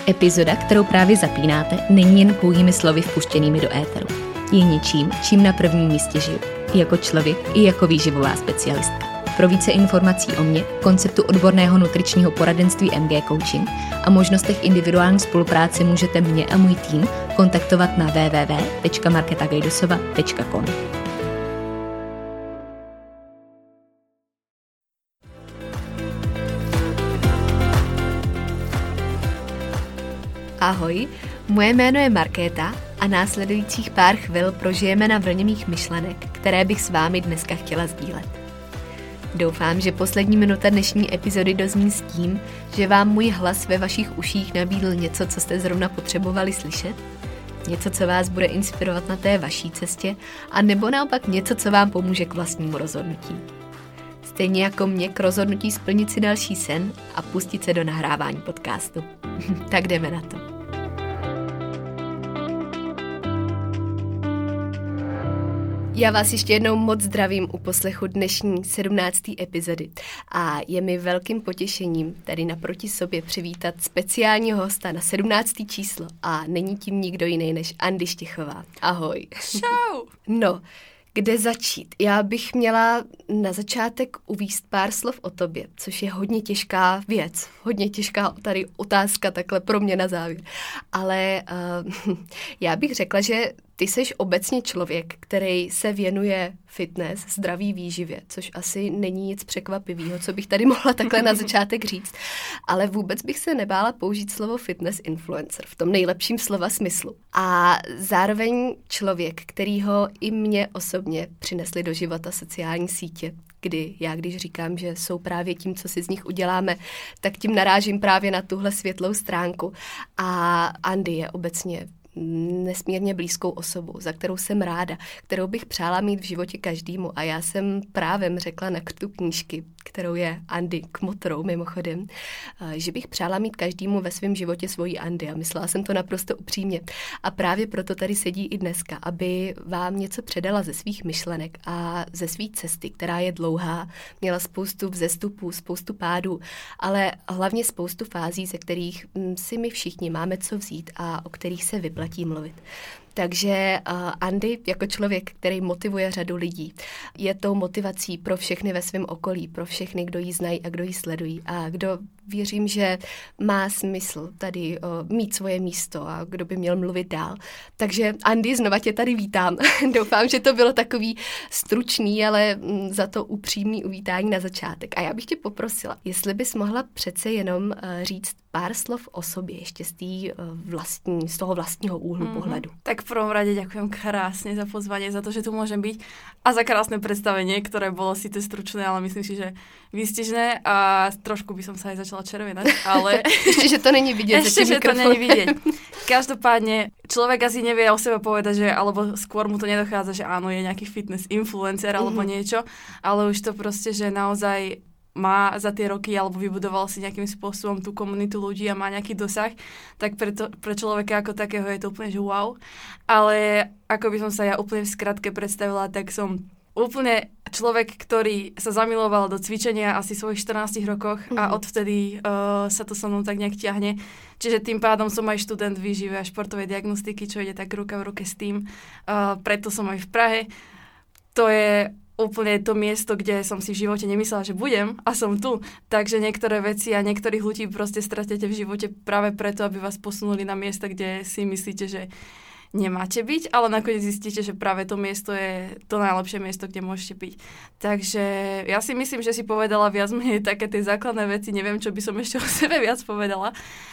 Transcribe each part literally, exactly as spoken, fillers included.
Epizoda, kterou právě zapínáte, není jen pouhými slovy vpuštěnými do éteru. Je něčím, čím na prvním místě žiju. I jako člověk, i jako výživová specialistka. Pro více informací o mně, konceptu odborného nutričního poradenství M G Coaching a možnostech individuální spolupráce můžete mě a můj tým kontaktovat na w w w tečka marketa gajdosova tečka com. Ahoj, moje jméno je Markéta a následujících pár chvil prožijeme na vlně mých myšlenek, které bych s vámi dneska chtěla sdílet. Doufám, že poslední minuta dnešní epizody dozní s tím, že vám můj hlas ve vašich uších nabídl něco, co jste zrovna potřebovali slyšet, něco, co vás bude inspirovat na té vaší cestě, a nebo naopak něco, co vám pomůže k vlastnímu rozhodnutí. Stejně jako mě k rozhodnutí splnit si další sen a pustit se do nahrávání podcastu. Tak jdeme na to. Já vás ještě jednou moc zdravím u poslechu dnešní sedmnácté epizody a je mi velkým potěšením tady naproti sobě přivítat speciálního hosta na sedmnácté číslo a není tím nikdo jiný než Andy Štěchová. Ahoj. Čau. No, kde začít? Já bych měla na začátek uvést pár slov o tobě, což je hodně těžká věc, hodně těžká tady otázka takhle pro mě na závěr. Ale uh, já bych řekla, že ty seš obecně člověk, který se věnuje fitness, zdraví výživě, což asi není nic překvapivého, co bych tady mohla takhle na začátek říct. Ale vůbec bych se nebála použít slovo fitness influencer v tom nejlepším slova smyslu. A zároveň člověk, kterýho i mě osobně přinesli do života sociální sítě, kdy já, když říkám, že jsou právě tím, co si z nich uděláme, tak tím narážím právě na tuhle světlou stránku. A Andy je obecně nesmírně blízkou osobou, za kterou jsem ráda, kterou bych přála mít v životě každému. A já jsem právem řekla na krtu knížky, kterou je Andy Kmotrou mimochodem, že bych přála mít každému ve svém životě svoji Andy a myslela jsem to naprosto upřímně. A právě proto tady sedí i dneska, aby vám něco předala ze svých myšlenek a ze své cesty, která je dlouhá, měla spoustu vzestupů, spoustu pádů, ale hlavně spoustu fází, ze kterých si my všichni máme co vzít a o kterých se vyplatí mluvit. Takže uh, Andy jako člověk, který motivuje řadu lidí, je tou motivací pro všechny ve svém okolí, pro všechny, kdo ji znají a kdo ji sledují a kdo věřím, že má smysl tady uh, mít svoje místo a kdo by měl mluvit dál. Takže Andy, znova tě tady vítám. Doufám, že to bylo takový stručný, ale m, za to upřímný uvítání na začátek. A já bych tě poprosila, jestli bys mohla přece jenom uh, říct pár slov o sobě, ještě z, tý, uh, vlastní, z toho vlastního úhlu mm-hmm. pohledu. Tak v prvom rade ďakujem krásne za pozvanie, za to, že tu môžem byť a za krásne predstavenie, ktoré bolo síce stručné, ale myslím si, že výstižné a trošku by som sa aj začala červenať, ale... Ešte, že to není vidieť. Ešte, že to není vidieť. Každopádne, človek asi nevie o sebe povedať, že, alebo skôr mu to nedochádza, že áno, je nejaký fitness influencer alebo mm-hmm. niečo, ale už to proste, že naozaj má za tie roky alebo vybudoval si nejakým spôsobom tú komunitu ľudí a má nejaký dosah, tak pre, to, pre človeka ako takého je to úplne, že wow. Ale ako by som sa ja úplne v skratke predstavila, tak som úplne človek, ktorý sa zamiloval do cvičenia asi v svojich štrnástich rokoch mm-hmm. a odvtedy uh, sa to so mnou tak nejak ťahne. Čiže tým pádom som aj študent výživy a športovej diagnostiky, čo ide tak ruka v ruke s tým. Uh, preto som aj v Prahe. To je úplne to miesto, kde som si v živote nemyslela, že budem a som tu. Takže niektoré veci a niektorých ľudí proste stratíte v živote práve preto, aby vás posunuli na miesta, kde si myslíte, že nemáte byť, ale nakoniec zistíte, že práve to miesto je to najlepšie miesto, kde môžete byť. Takže ja si myslím, že si povedala viac menej také tie základné veci. Neviem, čo by som ešte o sebe viac povedala,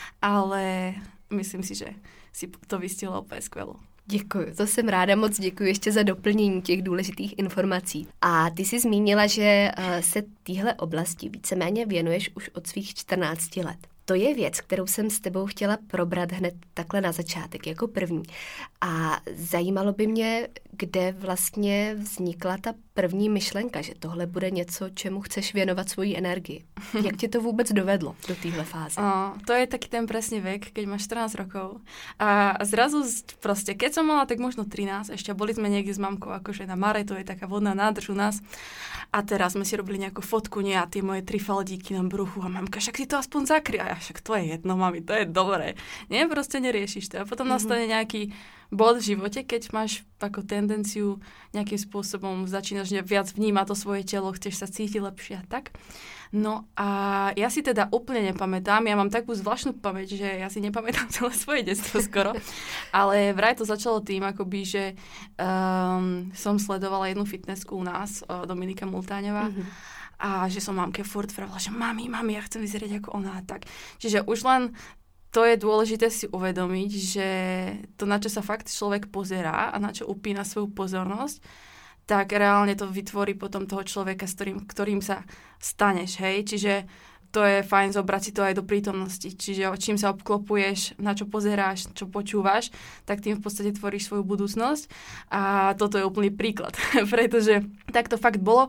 ale myslím si, že si to vystihla úplne skvelo. Děkuji, to jsem ráda, moc děkuji ještě za doplnění těch důležitých informací. A ty jsi zmínila, že se téhle oblasti víceméně věnuješ už od svých čtrnácti let. To je věc, kterou jsem s tebou chtěla probrat hned takhle na začátek, jako první. A zajímalo by mě, kde vlastně vznikla ta první myšlenka, že tohle bude něco, čemu chceš věnovat svoji energii. Jak tě to vůbec dovedlo do téhle fáze? O, to je taký ten presný vek, keď máš štrnásť rokov. A zrazu proste, keď som mala tak možno trinásť, ešte boli sme niekde s mamkou akože na Mare, to je taká vodná nádrž u nás. A teraz sme si robili nejakú fotku, nie, a tie moje tri faldíky na bruchu a mamka, však si to aspoň zakry. A ja však to je jedno, mami, to je dobré. Nie, proste neriešiš to. A potom mm-hmm. nastane nejaký bod v živote, keď máš ako tendenciu nejakým spôsobom začínaš viac vnímať to svoje telo, chceš sa cítiť lepšie a tak. No a ja si teda úplne nepamätám, ja mám takú zvláštnu pamäť, že ja si nepamätám celé svoje detstvo skoro, ale vraj to začalo tým, akoby, že um, som sledovala jednu fitnessku u nás, uh, Dominika Multáňová, mm-hmm. a že som mamke furt vravala, že mami, mami, ja chcem vyzerať ako ona a tak. Čiže už len to je dôležité si uvedomiť, že to, na čo sa fakt človek pozerá a na čo upína svoju pozornosť, tak reálne to vytvorí potom toho človeka, s ktorým, ktorým sa staneš, hej. Čiže to je fajn zobrať si to aj do prítomnosti. Čiže čím sa obklopuješ, na čo pozeráš, čo počúvaš, tak tým v podstate tvoríš svoju budúcnosť. A toto je úplný príklad, pretože tak to fakt bolo.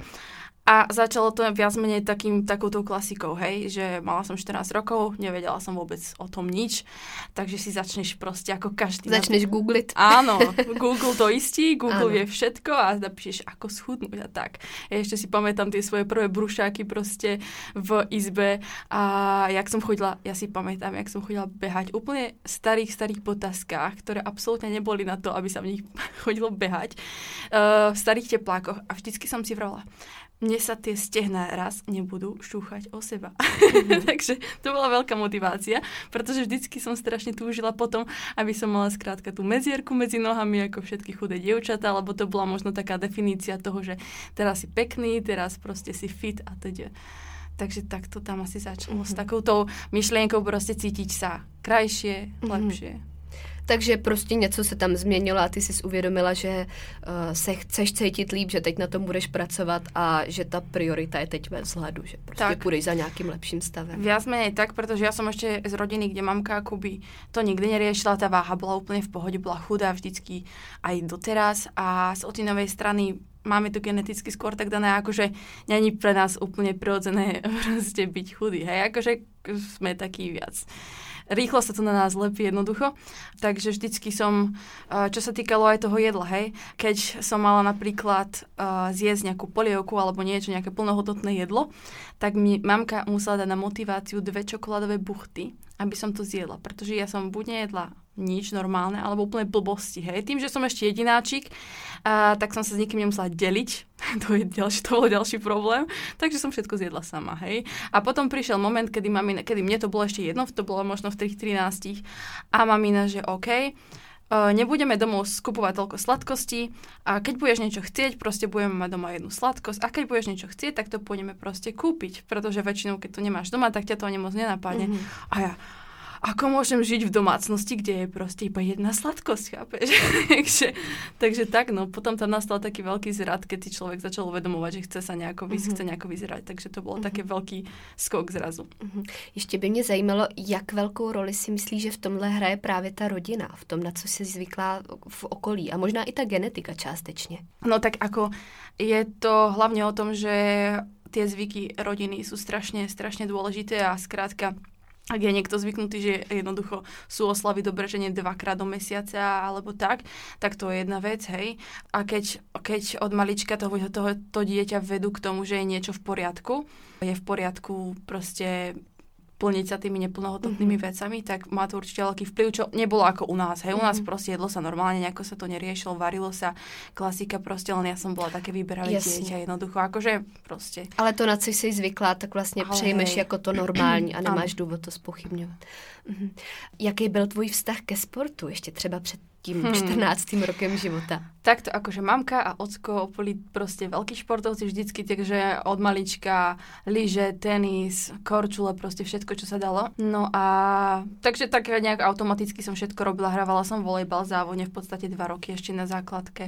A začalo to viac menej takým, takouto klasikou, hej, že mala som štrnásť rokov, nevedela som vôbec o tom nič, takže si začneš proste ako každý. Začneš googliť. Áno, Google to istí, Google Áno. vie všetko a napíšeš, ako schudnúť a tak. Ja ešte si pamätám tie svoje prvé brušáky proste v izbe a jak som chodila, ja si pamätám, jak som chodila behať úplne v starých, starých botaskách, ktoré absolútne neboli na to, aby sa v nich chodilo behať, uh, v starých teplákoch a vždycky som si vrala, mne sa tie stehná raz nebudú šúchať o seba. Mm-hmm. Takže to bola veľká motivácia, pretože vždycky som strašne túžila potom, aby som mala skrátka tú medzierku medzi nohami, ako všetky chudé dievčatá, lebo to bola možno taká definícia toho, že teraz si pekný, teraz proste si fit a teda. Takže tak to tam asi začalo. Mm-hmm. S takoutou myšlienkou proste cítiť sa krajšie, mm-hmm. lepšie. Takže prostě něco se tam změnilo a ty jsi uvědomila, že uh, se chceš cítit líp, že teď na tom budeš pracovat a že ta priorita je teď ve vzhledu, že prostě tak. půjdeš za nějakým lepším stavem. Viac menej tak, protože ja som ešte z rodiny, kde mamka akoby to nikdy neriešila, tá váha bola úplne v pohode, bola chudá vždycky aj doteraz a z otinovej strany máme to geneticky skôr tak dané, akože není pre nás úplne prirodzené proste byť chudý, hej, akože sme taký viac. Rýchlo sa to na nás lepí jednoducho, takže vždycky som, čo sa týkalo aj toho jedla, hej, keď som mala napríklad uh, zjesť nejakú polievku alebo niečo, nejaké plnohodnotné jedlo, tak mi mamka musela dať na motiváciu dve čokoládové buchty, aby som to zjedla, pretože ja som buď nejedla nič normálne, alebo úplne blbosti, hej. Tým, že som ešte jedináčik, a, tak som sa s nikým nemusela deliť. To je ďalší, to bol ďalší problém. Takže som všetko zjedla sama, hej. A potom prišiel moment, kedy, mamina, kedy mne to bolo ešte jedno, to bolo možno v tých trinástich, a mamina, že OK, nebudeme domov skupovať toľko sladkostí a keď budeš niečo chcieť, proste budeme mať doma jednu sladkosť a keď budeš niečo chcieť, tak to pôjdeme proste kúpiť, pretože väčšinou, keď to nemáš doma, tak ťa to ani moc nenapadne. Mm-hmm. A ja, ako môžem žiť v domácnosti, kde je proste iba jedna sladkosť, chápeš? takže, takže tak, no, potom tam nastal taký veľký zrad, keď si človek začal uvedomovať, že chce sa nejako, vys- mm-hmm. chce nejako vyzerať, takže to bolo mm-hmm. taký veľký skok zrazu. Mm-hmm. Ještě by mě zajímalo, jak velkou roli si myslíš, že v tomhle hraje právě ta rodina, v tom, na co jsi zvyklá v okolí a možná i ta genetika částečně. No tak ako je to hlavne o tom, že tie zvyky rodiny sú strašne, strašne dôležité a skrátka ak je niekto zvyknutý, že jednoducho sú oslavy dobre, že nie dvakrát do mesiaca alebo tak, tak to je jedna vec, hej. A keď, keď od malička toho, toho, to dieťa vedú k tomu, že je niečo v poriadku, je v poriadku proste plniť sa tými neplnohodnotnými mm-hmm. vecami, tak má to určite veľký vplyv, čo nebolo ako u nás. Hej, u nás mm-hmm. proste jedlo sa normálne, nejako sa to neriešilo, varilo sa, klasika proste, len ja som bola také vyberavé dieťa, jednoducho, akože proste. Ale to, na co jsi zvyklá, tak vlastně Ale přejmeš hej. jako to normální a nemáš důvod to zpochybňovat. Mm-hmm. Jaký byl tvůj vztah ke sportu ještě třeba před tím hmm. čtrnáctým rokem života? Takto, akože mamka a ocko boli proste veľkí športovci vždycky, takže od malička lyže, tenis, korčule, proste všetko, čo sa dalo. No a takže tak nejak automaticky som všetko robila, hrávala som volejbal závodne v podstate dva roky ešte na základke.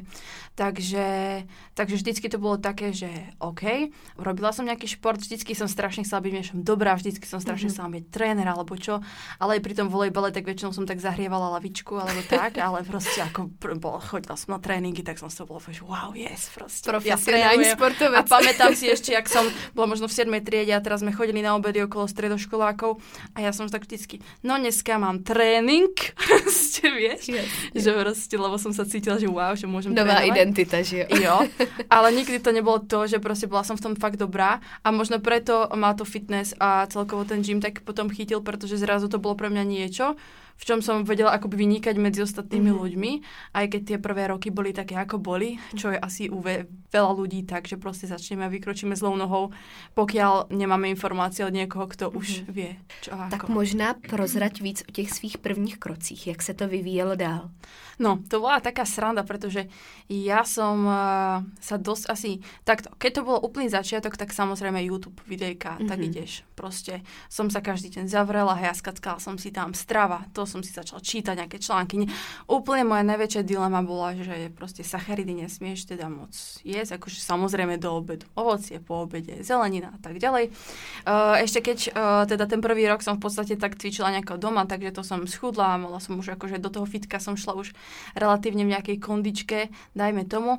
Takže, takže vždycky to bolo také, že OK, robila som nejaký šport, vždycky som strašne chcela byť niečom dobrá, vždycky som strašne mm-hmm. chcela byť tréner alebo čo, ale aj pri tom volejbale tak väčšinou som tak zahrievala lavičku alebo tak, ale proste ako bol, chodila som na tréningy, tak som sa bola, že wow, yes, proste. Profesionálny ja sportovec. A pamätám si ešte, jak som bola možno v siedmej triede a teraz sme chodili na obedy okolo stredoškolákov a ja som tak vždycky, no dneska mám tréning proste, vieš, yes, že proste, lebo som sa cítila, že wow, že môžem nová trénovať. identita, že jo. Jo, ale nikdy to nebolo to, že proste bola som v tom fakt dobrá a možno preto má to fitness a celkovo ten gym tak potom chytil, pretože zrazu to bolo pre mňa niečo, v čom som vedela akoby vynikať medzi ostatnými mm-hmm. ľuďmi, aj keď tie prvé roky boli také, ako boli, čo je asi u ve- veľa ľudí tak, že proste začneme a vykročíme zlou nohou, pokiaľ nemáme informácie od niekoho, kto mm-hmm. už vie, čo a Tak ako. možná prozrať víc o těch svých prvních krocích, jak se to vyvíjelo dál. No, to bola taká sranda, pretože ja som uh, sa dosť asi... Takto, keď to bolo úplný začiatok, tak samozrejme YouTube, videjka, mm-hmm. tak ideš. Proste som sa každý deň zavrela, hjaskackala som si tam strava, to som si začala čítať, nejaké články. Úplne moja najväčšia dilema bola, že proste sacharidy nesmieš teda moc jesť, akože samozrejme do obedu. Ovocie po obede, zelenina a tak ďalej. Uh, ešte keď uh, teda ten prvý rok som v podstate tak cvičila nejako doma, takže to som schudla, mala som už akože do toho fitka som šla už relatívne v nejakej kondičke, dajme tomu.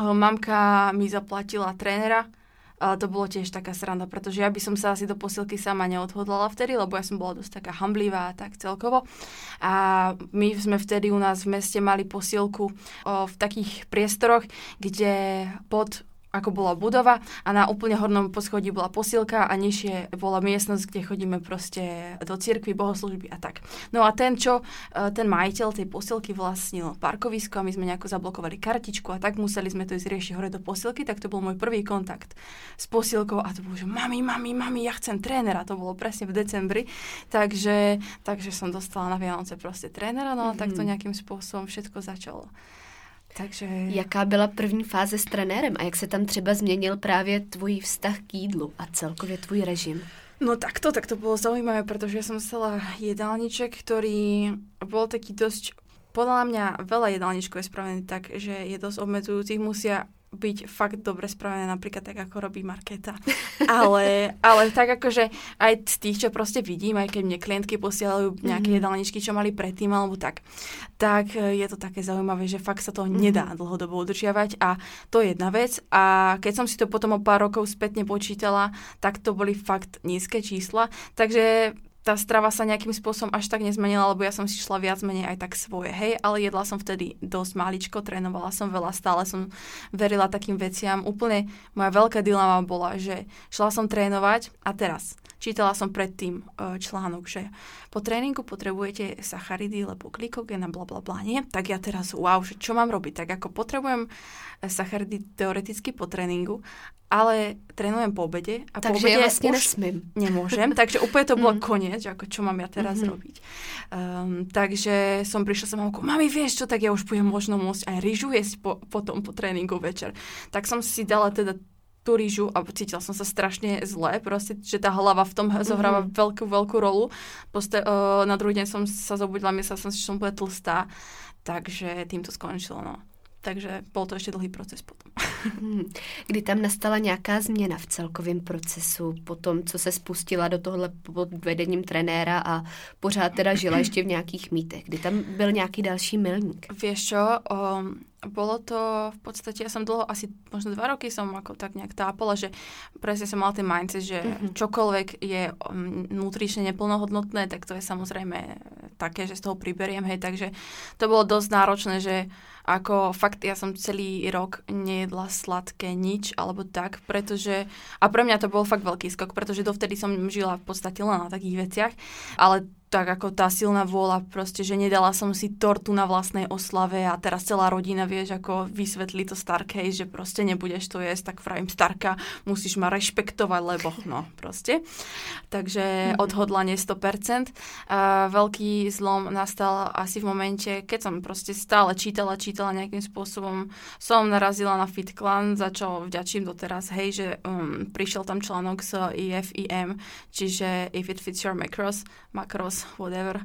Mamka mi zaplatila trénera, ale to bolo tiež taká sranda, pretože ja by som sa asi do posilky sama neodhodlala vtedy, lebo ja som bola dosť taká hamblivá tak celkovo. A my sme vtedy u nás v meste mali posilku o, v takých priestoroch, kde pod ako bola budova a na úplne hornom poschodí bola posilka a nižšie bola miestnosť, kde chodíme proste do cirkvi, bohoslúžby a tak. No a ten, čo, ten majiteľ tej posilky vlastnil parkovisko a my sme nejako zablokovali kartičku a tak museli sme to ísť riešiť hore do posilky, tak to bol môj prvý kontakt s posilkou a to bolo, že mami, mami, mami, ja chcem trénera, to bolo presne v decembri, takže, takže som dostala na Vianoce proste trénera, no a mm-hmm. takto nejakým spôsobom všetko začalo. Takže... Jaká byla první fáze s trenérem a jak se tam třeba změnil právě tvůj vztah k jídlu a celkově tvůj režim? No takto, tak to bolo zaujímavé, pretože ja som chcela jedálniček, ktorý bol taký dosť, podľa mňa veľa jedálničkov je spravený tak, že je dosť obmedzujúcich, musia byť fakt dobre spravené, napríklad tak, ako robí Markéta. Ale, ale tak akože aj z tých, čo proste vidím, aj keď mne klientky posielajú nejaké mm-hmm. jedálničky, čo mali predtým, alebo tak, tak je to také zaujímavé, že fakt sa to mm-hmm. nedá dlhodobo udržiavať a to je jedna vec. A keď som si to potom o pár rokov spätne počítala, tak to boli fakt nízke čísla, takže tá strava sa nejakým spôsobom až tak nezmenila, lebo ja som si šla viac menej aj tak svoje, hej, ale jedla som vtedy dosť maličko, trénovala som veľa, stále som verila takým veciam. Úplne moja veľká dilema bola, že šla som trénovať a teraz čítala som predtým článok, že po tréningu potrebujete sacharidy, lebo glykogén a blablabla, nie? Tak ja teraz, wow, že čo mám robiť? Tak ako potrebujem sacharidy teoreticky po tréningu, ale trénujem po obede a takže po obede ja vlastne už nesmím. Nemôžem, takže úplne to bolo mm. koniec, že ako čo mám ja teraz mm-hmm. robiť. Um, takže som prišla sa mamkou, mami, vieš čo, tak ja už budem možno môcť aj rýžu jesť po, potom po tréningu večer. Tak som si dala teda tú rýžu a cítila som sa strašne zle, proste, že tá hlava v tom zohráva mm-hmm. veľkú, veľkú rolu. Poste, uh, na druhý deň som sa zobudila, myslela som si, že som bude tlstá, takže tým to skončilo, no. Takže bol to ešte dlhý proces potom. Kdy tam nastala nějaká změna v celkovém procesu po tom, co se spustila do tohle pod vedením trenéra a pořád teda žila ještě v nějakých mýtech? Kdy tam byl nějaký další milník? Vieš čo, um, bolo to v podstate, ja som dlho, asi možno dva roky som ako tak nejak tápala, že presne som mala ten mindset, že mm-hmm. čokoľvek je um, nutrične neplnohodnotné, tak to je samozrejme také, že z toho priberiem, hej, takže to bolo dosť náročné, že ako fakt ja som celý rok nejedla sladké nič, alebo tak, pretože, a pre mňa to bol fakt veľký skok, pretože dovtedy som žila v podstate len na takých veciach, ale tak ako tá silná vôľa proste, že nedala som si tortu na vlastnej oslave a teraz celá rodina, vieš, ako vysvetlí to Starkej, že proste nebudeš to jesť, tak vravím, Starka, musíš ma rešpektovať, lebo no, proste. Takže odhodlanie sto percent. A veľký zlom nastal asi v momente, keď som proste stále čítala, čítala nejakým spôsobom, som narazila na FitClan, za čo vďačím doteraz, hej, že um, prišiel tam článok z I F I M, čiže If It Fits Your Macros, Macros, whatever.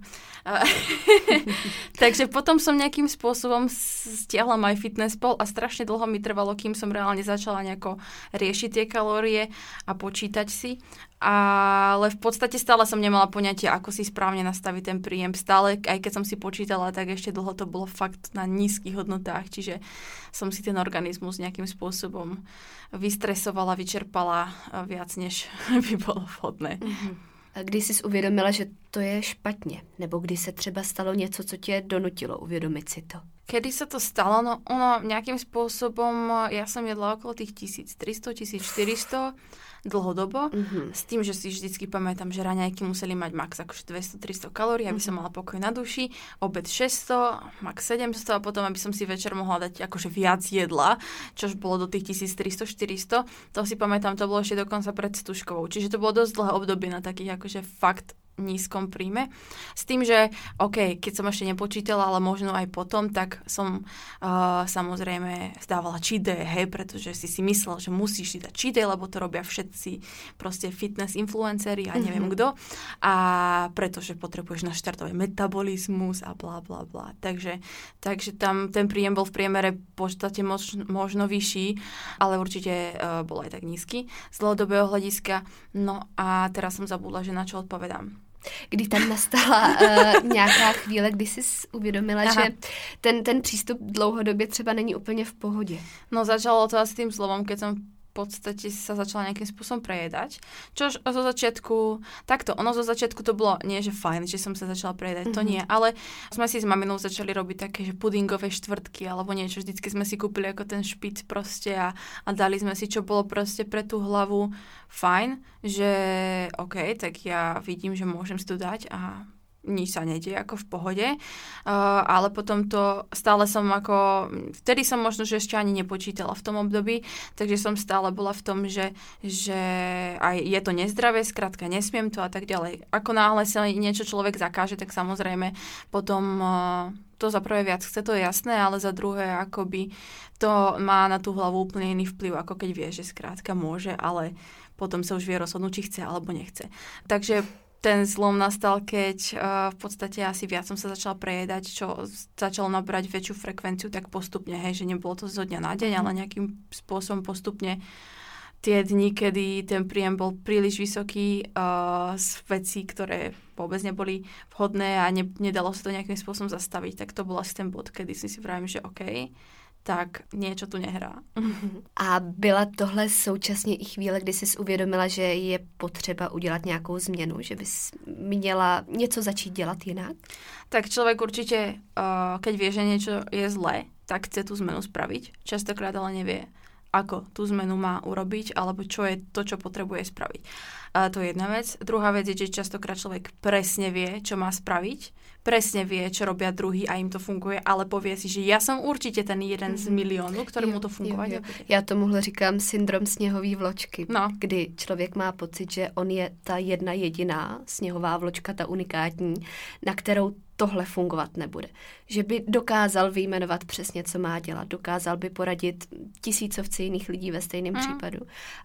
Takže potom som nejakým spôsobom stiahla MyFitnessPal a strašne dlho mi trvalo, kým som reálne začala nejako riešiť tie kalórie a počítať si. Ale v podstate stále som nemala poňatie, ako si správne nastaviť ten príjem. Stále, aj keď som si počítala, tak ešte dlho to bolo fakt na nízkych hodnotách, čiže som si ten organizmus nejakým spôsobom vystresovala, vyčerpala viac, než by bolo vhodné. Mm-hmm. A když jsi uvědomila, že to je špatně? Nebo kdy se třeba stalo něco, co tě donutilo uvědomit si to? Kedy sa to stalo? No ono nejakým spôsobom, ja som jedla okolo tých tisíctristo tisícštyristo dlhodobo, mm-hmm. s tým, že si vždycky pamätám, že raňajky museli mať max akože dvesto tristo kalórií, aby mm-hmm. som mala pokoj na duši, obed šesťsto, max sedemsto a potom, aby som si večer mohla dať akože viac jedla, čož bolo do tých tisíctristo štyristo. To si pamätám, to bolo ešte dokonca pred stužkovou. Čiže to bolo dosť dlhé obdobie na takých akože fakt nízkom príjme. S tým, že OK, keď som ešte nepočítala, ale možno aj potom, tak som uh, samozrejme zdávala cheat day, hej, pretože si si myslel, že musíš si dať cheat day, lebo to robia všetci proste fitness influenceri a neviem mm-hmm. kto. A pretože potrebuješ naštartovať metabolizmus a bla bla bla. Takže, takže tam ten príjem bol v priemere v podstate mož, možno vyšší, ale určite uh, bol aj tak nízky z dlhodobého hľadiska. No a teraz som zabudla, že na čo odpovedám. Kdy tam nastala uh, nějaká chvíle, kdy jsi uvědomila, Aha. že ten, ten přístup dlouhodobě třeba není úplně v pohodě? No začalo to asi tým slovom, keď som v podstate sa začala nejakým spôsobom prejedať. Čož zo začiatku, takto, ono zo začiatku to bolo nie, že fajn, že som sa začala prejedať, mm-hmm. to nie, ale sme si s maminou začali robiť také, že pudingové štvrtky alebo niečo, vždycky sme si kúpili ako ten špic proste a, a dali sme si, čo bolo proste pre tú hlavu fajn, že OK, tak ja vidím, že môžem si to dať a nič sa nedie, ako v pohode, uh, ale potom to stále som ako, vtedy som možno, že ešte ani nepočítala v tom období, takže som stále bola v tom, že, že aj je to nezdravé, skrátka nesmiem to a tak ďalej. Ako náhle sa niečo človek zakáže, tak samozrejme potom uh, to za prvé viac chce, to je jasné, ale za druhé akoby to má na tú hlavu úplne iný vplyv, ako keď vie, že skrátka môže, ale potom sa už vie rozhodnúť, či chce alebo nechce. Takže ten zlom nastal, keď uh, v podstate asi viac som sa začala prejedať, čo začalo nabrať väčšiu frekvenciu, tak postupne, hej, že nebolo to zo dňa na deň, ale nejakým spôsobom postupne tie dni, kedy ten príjem bol príliš vysoký uh, z vecí, ktoré vôbec neboli vhodné a ne, nedalo sa to nejakým spôsobom zastaviť, tak to bol asi ten bod, kedy si si vravím, že OK, tak niečo tu nehrá. A byla tohle současně i chvíle, kdy jsi uvědomila, že je potřeba udělat nějakou změnu, že bys měla něco začít dělat jinak? Tak človek určite, uh, keď vie, že niečo je zlé, tak chce tú zmenu spraviť. Častokrát ale nevie, ako tú zmenu má urobiť, alebo čo je to, čo potrebuje spraviť. A to je jedna vec. Druhá vec je, že častokrát človek presne vie, čo má spraviť, presne vie, čo robia druhý a im to funguje, ale povie si, že ja som určite ten jeden z miliónu, ktorému to fungovať nebude. Já tomuhle říkám syndrom sněhové vločky, no. Kdy člověk má pocit, že on je ta jedna jediná sněhová vločka, ta unikátní, na kterou tohle fungovat nebude. Že by dokázal vyjmenovat přesně, co má dělat, dokázal by poradit tisícovce jiných lidí ve stejném mm. případu,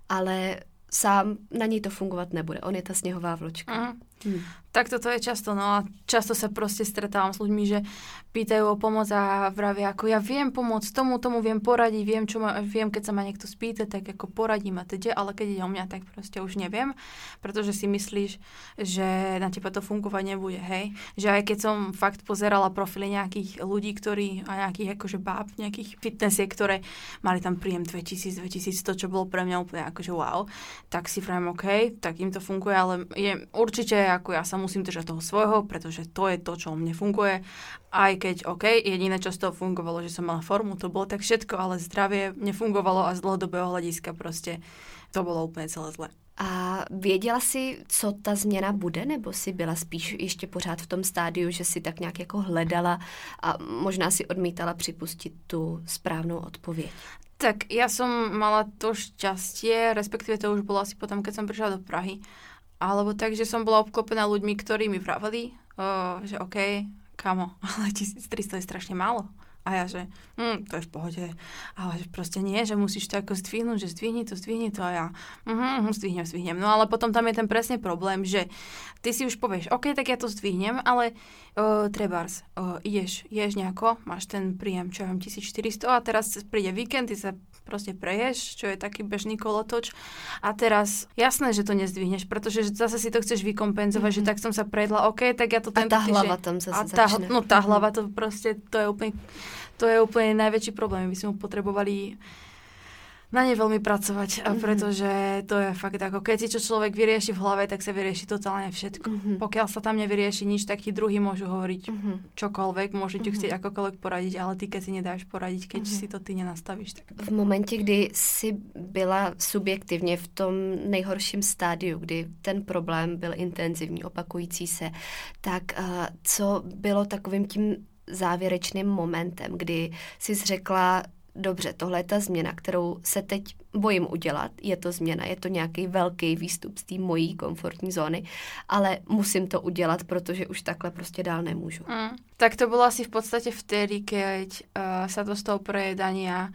ale sám na něj to fungovat nebude. On je ta sněhová vločka. Mm. Hmm. Tak toto je často, no a často sa proste stretávam s ľuďmi, že pýtajú o pomoc a vravia, ako ja viem pomôcť tomu, tomu viem poradiť, viem, čo ma, viem, keď sa ma niekto spýta, tak ako poradím a teda, ale keď ide o mňa, tak proste už neviem, pretože si myslíš, že na teba to fungovať nebude, hej. Že aj keď som fakt pozerala profily nejakých ľudí, ktorí, a nejakých akože báb, nejakých fitnessiek, ktoré mali tam príjem dvetisíc, dvetisícsto, čo bolo pre mňa úplne akože wow, tak si vravím, OK, tak im to funguje, ale je určite ako ja sa musím držať toho svojho, pretože to je to, čo mne funguje. Aj keď, OK, jediné, čo z toho fungovalo, že som mala formu, to bolo tak všetko, ale zdravie nefungovalo a z dlhodobého hľadiska proste to bolo úplne celé zle. A věděla jsi, co ta změna bude, nebo jsi byla spíš ještě pořád v tom stádiu, že si tak nějak jako hledala a možná si odmítala připustit tu správnou odpověď? Tak ja som mala to šťastie, respektíve to už bolo asi potom, keď som prišla do Prahy, alebo tak, že som bola obklopená ľuďmi, ktorí mi vraveli, uh, že OK, kamo, ale tisíctristo je strašne málo. A ja, že hm, to je v pohode, ale že proste nie, že musíš to ako zdvihnúť, že zdvihni to, zdvihni to a ja uh-huh, zdvihnem, zdvihnem. No ale potom tam je ten presne problém, že ty si už povieš, OK, tak ja to zdvihnem, ale uh, trebárs, uh, ideš, ješ nejako, máš ten príjem, čo ja viem, tisícštyristo a teraz príde víkend, ty sa proste preješ, čo je taký bežný kolotoč a teraz jasné, že to nezdvihneš, pretože zase si to chceš vykompenzovať, mm-hmm. že tak som sa prejedla, OK, tak ja to tento A tá hlava týždeň, tam zase a tá, začne. No tá hlava, to proste, to je úplne, to je úplne najväčší problém. My sme ho potrebovali na ne veľmi pracovať, mm-hmm. pretože to je fakt ako, keď si čo človek vyrieši v hlave, tak sa vyrieši totálne všetko. Mm-hmm. Pokiaľ sa tam nevyrieši nič, tak ti druhý môžu hovoriť mm-hmm. čokoľvek, môžu ti mm-hmm. chcieť akokoľvek poradiť, ale ty, keď si nedáš poradiť, keď mm-hmm. si to ty nenastavíš. Tak... V momentě, kdy jsi byla subjektivně v tom nejhorším stádiu, kdy ten problém byl intenzivní, opakující se, tak uh, co bylo takovým tím závěrečným momentem, kdy jsi řekla, dobře, tohle je ta změna, kterou se teď bojím udělat, je to změna, je to nějaký velký výstup z té mojí komfortní zóny, ale musím to udělat, protože už takhle prostě dál nemůžu. Mm. Tak to bolo asi v podstate vtedy, keď uh, sa to z toho prejedania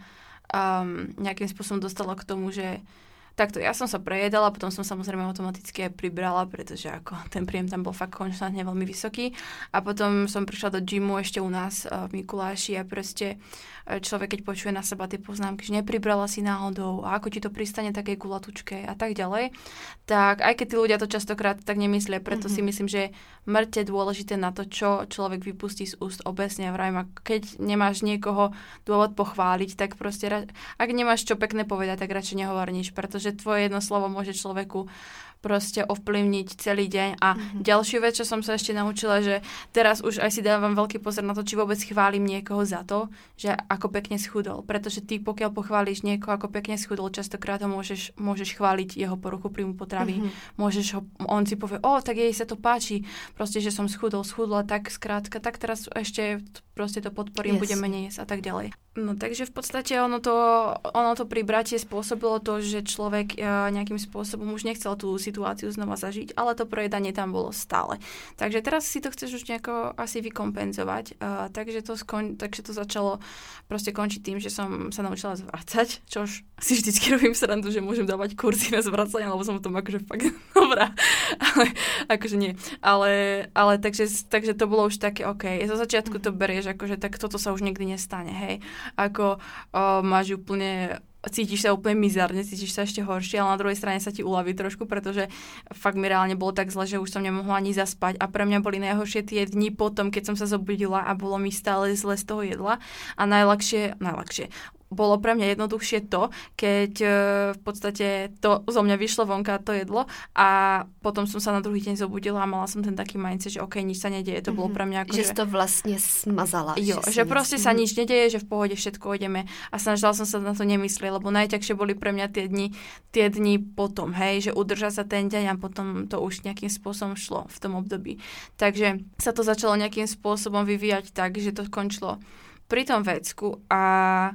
um, nejakým spôsobom dostalo k tomu, že takto, ja som sa prejedala, potom som samozrejme automaticky aj pribrala, pretože ako ten príjem tam bol fakt konštantne veľmi vysoký. A potom som prišla do gymu ešte u nás uh, v Mikuláši a proste človek, keď počuje na seba tie poznámky, že nepribrala si náhodou a ako ti to pristane takej kulatučke a tak ďalej, tak aj keď tí ľudia to častokrát tak nemyslia, preto mm-hmm. si myslím, že je mŕte dôležité na to, čo človek vypustí z úst obecne. Vravím, keď nemáš niekoho dôvod pochváliť, tak proste, ak nemáš čo pekné povedať, tak radšej nehovor nič, pretože tvoje jedno slovo môže človeku proste ovplyvniť celý deň. A mm-hmm. ďalšiu vec, čo som sa ešte naučila, že teraz už aj si dávam veľký pozor na to, či vôbec chválim niekoho za to, že ako pekne schudol. Pretože ty, pokiaľ pochváliš niekoho, ako pekne schudol, častokrát ho môžeš, môžeš chváliť jeho poruchu príjmu potravy. Mm-hmm. Môžeš ho, on si povie, o, tak jej sa to páči, proste, že som schudol, schudla, tak skrátka, tak teraz ešte proste to podporím, yes. budem menej jesť a tak ďalej. No takže v podstate ono to, ono to pribratie spôsobilo to, že človek uh, nejakým spôsobom už nechcel tú situáciu znova zažiť, ale to prejedanie tam bolo stále. Takže teraz si to chceš už nejako asi vykompenzovať. Uh, takže, to skon, takže to začalo proste končiť tým, že som sa naučila zvracať, čož si vždycky robím srandu, že môžem dávať kurzy na zvracanie, lebo som v tom akože fakt dobrá. Ale akože nie. Ale, ale takže, takže to bolo už také, OK, zo začiatku to berieš, akože tak toto sa už nikdy nestane, hej. Ako o, máš úplne, cítiš sa úplne mizárne, cítiš sa ešte horšie, ale na druhej strane sa ti uľaví trošku, pretože fakt mi reálne bolo tak zle, že už som nemohla ani zaspať a pre mňa boli najhoršie tie dni potom, keď som sa zobudila a bolo mi stále zle z toho jedla a najľahšie, najľahšie, bolo pre mňa jednoduchšie to, keď e, v podstate to zo mňa vyšlo vonka to jedlo a potom som sa na druhý deň zobudila a mala som ten taký mindset, že OK, nič sa nedieje. To bolo pre mňa ako, že... Že to vlastne smazala. Jo, že, že proste nic... sa nič nedieje, že v pohode všetko ideme a snažila som sa na to nemyslieť, lebo najťažšie boli pre mňa tie dni, tie dni potom, hej, že udržať sa ten deň a potom to už nejakým spôsobom šlo v tom období. Takže sa to začalo nejakým spôsobom vyvíjať tak, že to skončilo pri tom vecku a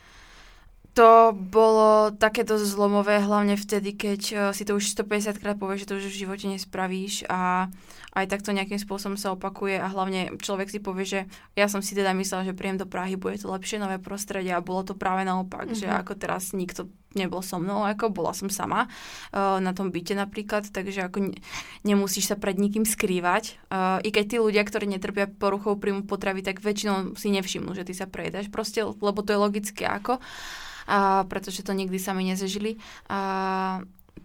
to bolo takéto zlomové, hlavne vtedy, keď si to už stopäťdesiat krát povieš, že to už v živote nespravíš a aj takto nejakým spôsobom sa opakuje a hlavne človek si povie, že ja som si teda myslela, že príjem do Prahy, bude to lepšie nové prostredie a bolo to práve naopak, mm-hmm. že ako teraz nikto nebol so mnou, ako bola som sama uh, na tom byte napríklad, takže ako ne, nemusíš sa pred nikým skrývať. Uh, I keď tí ľudia, ktorí netrpia poruchou príjmu potravy, tak väčšinou si nevšimnú, že ty sa prejedáš proste, lebo to je logické ako. A pretože to nikdy sami nezažili. A,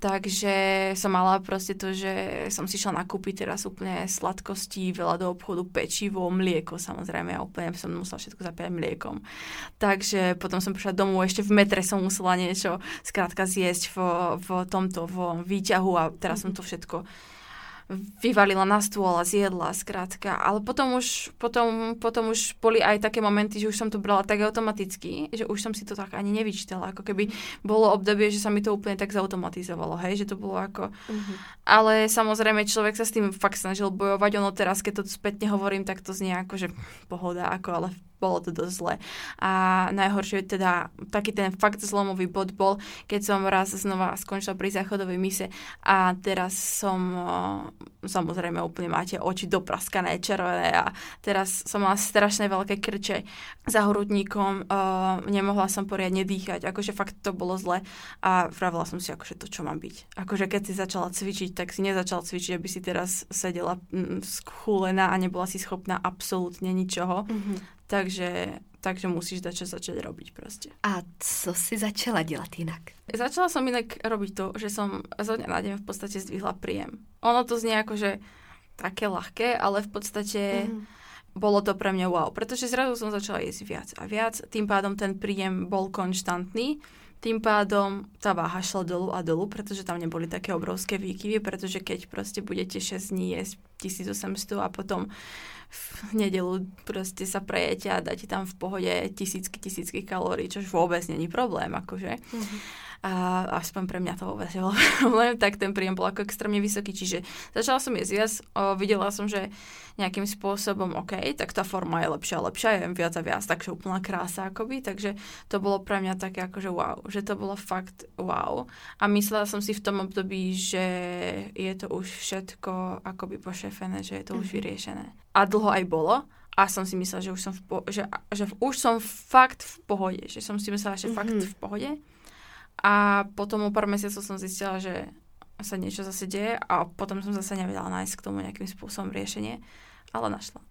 takže som mala proste to, že som si šla nakúpiť teraz úplne sladkosti, veľa do obchodu, pečivo, mlieko, samozrejme, ja úplne som musela všetko zapíjať mliekom. Takže potom som prišla domov, ešte v metre som musela niečo skrátka zjesť v, v tomto, v výťahu a teraz som to všetko vyvalila na stôl a zjedla, skrátka. Ale potom už, potom, potom už boli aj také momenty, že už som to brala tak automaticky, že už som si to tak ani nevyčítala. Ako keby bolo obdobie, že sa mi to úplne tak zautomatizovalo, hej, že to bolo ako... Uh-huh. Ale samozrejme, človek sa s tým fakt snažil bojovať. Ono teraz, keď to spätne hovorím, tak to znie ako, že pohoda, ako, ale bolo to dosť zle. A najhoršie teda, taký ten fakt zlomový bod bol, keď som raz znova skončila pri záchodovej mise a teraz som, samozrejme úplne máte oči dopraskané, červené a teraz som mala strašné veľké krče za hrudníkom, uh, nemohla som poriadne dýchať, akože fakt to bolo zle a vravila som si, akože to čo má byť. Akože keď si začala cvičiť, tak si nezačala cvičiť, aby si teraz sedela mm, schúlená a nebola si schopná absolútne ničoho. Mm-hmm. Takže, takže musíš dať čo začať robiť proste. A co si začala dělat jinak? Začala som inak robiť to, že som zo dňa na deň v podstate zdvihla príjem. Ono to znie ako, že také ľahké, ale v podstate mm. bolo to pre mňa wow. Pretože zrazu som začala jesť viac a viac. Tým pádom ten príjem bol konštantný. Tým pádom tá váha šla dolu a dolu, pretože tam neboli také obrovské výkyvy, pretože keď proste budete šesť dní jesť tisíc osemsto a potom v nedelu proste sa prejete a dáte tam v pohode tisícky, tisícky kalórií, čož vôbec není problém, akože. Mm-hmm. A aspoň pre mňa to vôbec nebol problém, tak ten príjem bol ako extrémne vysoký. Čiže začala som jesť viac, o, videla som, že nejakým spôsobom, OK, tak tá forma je lepšia a lepšia, jem viac a viac, takže úplná krása akoby, takže to bolo pre mňa také akože wow, že to bolo fakt wow. A myslela som si v tom období, že je to už všetko akoby pošefené, že je to mm-hmm. už vyriešené. A dlho aj bolo. A som si myslela, že už som v, po- že, že už som fakt v pohode, že som si myslela, že mm-hmm. fakt v pohode. A potom o pár mesiacov som zistila, že sa niečo zase deje a potom som zase nevedela nájsť k tomu nejakým spôsobom riešenie, ale našla.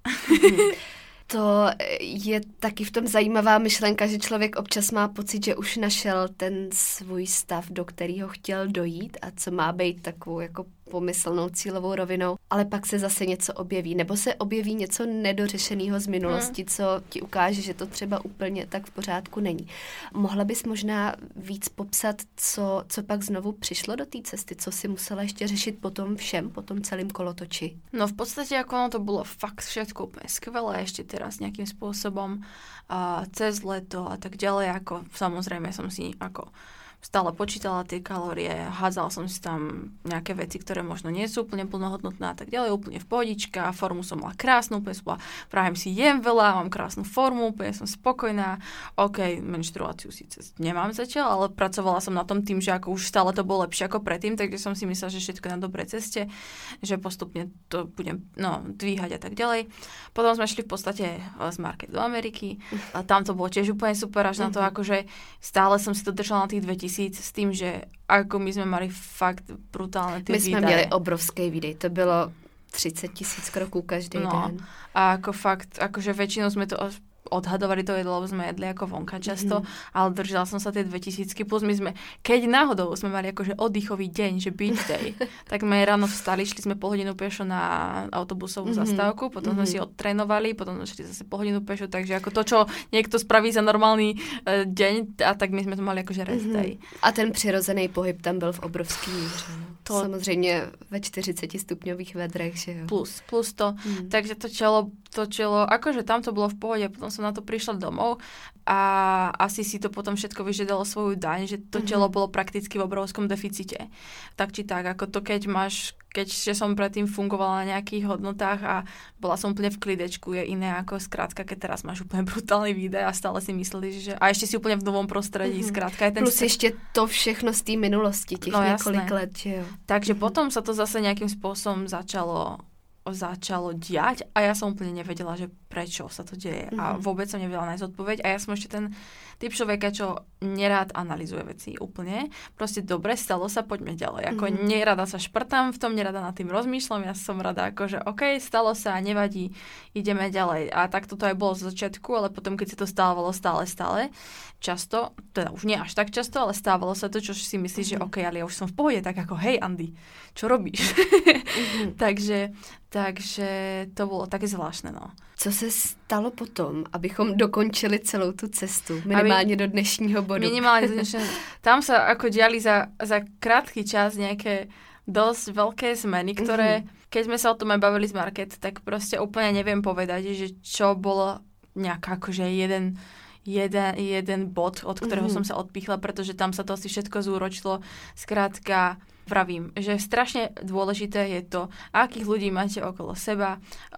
To je taky v tom zajímavá myšlenka, že člověk občas má pocit, že už našel ten svůj stav, do kterého chtěl dojít a co má být takovou jako pomyslnou cílovou rovinou, ale pak se zase něco objeví, nebo se objeví něco nedořešeného z minulosti, hmm. co ti ukáže, že to třeba úplně tak v pořádku není. Mohla bys možná víc popsat, co, co pak znovu přišlo do té cesty, co si musela ještě řešit po tom všem, po tom celým kolotoči? No v podstate ako ono to bolo fakt všetko úplne skvelé, ešte teraz nejakým spôsobom a cez leto a tak ďalej, ako samozrejme som si ako stále počítala tie kalórie, hádzala som si tam nejaké veci, ktoré možno nie sú úplne plnohodnotné a tak ďalej, úplne v pohodička, formu som mala krásnu, úplne som bola, práve si jem veľa, mám krásnu formu, úplne som spokojná, ok, menštruáciu síce nemám zatiaľ, ale pracovala som na tom tým, že ako už stále to bolo lepšie ako predtým, takže som si myslela, že všetko je na dobrej ceste, že postupne to budem no, dvíhať a tak ďalej. Potom sme šli v podstate z market do Ameriky a tam to bolo tiež úplne super, až na to akože stále som si to držala na tých dvetisíc s tým, že ako my sme mali fakt brutálne tie výdaje. My sme měli obrovský výdej, to bylo třicet tisíc kroků každý no, den. A ako fakt, akože väčšinou sme to odhadovali to jedlo, lebo sme jedli ako vonka často, mm-hmm. ale držala som sa tie dvetisícky, plus my sme, keď náhodou sme mali akože oddychový deň, že beach day, tak sme ráno vstali, šli sme pol hodinu pešo na autobusovú mm-hmm. zastávku, potom mm-hmm. sme si odtrénovali, potom sme šli zase pol hodinu pešo, takže ako to, čo niekto spraví za normálny uh, deň, a tak my sme to mali akože rest day. Mm-hmm. A ten přirozený pohyb tam byl v obrovský míře. To... Samozřejmě ve čtyřicetistupňových vedrech, že jo. Plus, plus to. Mm. Takže to čelo, to čelo, akože tam to bolo v pohode, potom som na to prišla domov a asi si to potom všetko vyžiadalo svoju daň, že to telo mm-hmm. bolo prakticky v obrovskom deficite. Tak či tak, ako to keď máš, keďže som predtým fungovala na nejakých hodnotách a bola som úplne v klidečku, je iné ako skrátka, keď teraz máš úplne brutálny výdej a stále si myslíš, že a ešte si úplne v novom prostredí, mm-hmm. skrátka. Je ten plus st- ešte to všechno z té minulosti, těch no, několik let, že jo. Takže mm-hmm. potom sa to zase nejakým spôsobom začalo začalo diať a ja som úplne nevedela, že prečo sa to deje. Mm-hmm. A vôbec som nevedela nájsť odpoveď. A ja som ešte ten typ človeka, čo nerád analyzuje veci úplne. Proste dobre, stalo sa, poďme ďalej. Ako mm-hmm. nerada sa šprtám v tom, nerada nad tým rozmýšľam. Ja som rada, ako že OK, stalo sa, nevadí, ideme ďalej. A tak toto aj bolo z začiatku, ale potom, keď sa to stávalo stále, stále, často, teda už nie až tak často, ale stávalo sa to, čo si myslíš, mm-hmm. že OK, ale ja už som v pohode, tak ako hej, Andy, čo robíš? Mm-hmm. takže, takže to bolo také zvláštne, no. Co se stalo potom, abychom dokončili celou tu cestu, minimálně Aby, do dnešního bodu? Minimálně do dnešního. Tam sa ako diali za, za krátky čas nejaké dosť veľké zmeny, ktoré, mm-hmm. keď sme sa o tom aj bavili z market, tak proste úplne neviem povedať, že čo bolo nejak akože jeden Jeden, jeden bod, od ktorého mm-hmm. som sa odpichla, pretože tam sa to asi všetko zúročilo. Skrátka, vravím, že strašne dôležité je to, akých ľudí máte okolo seba,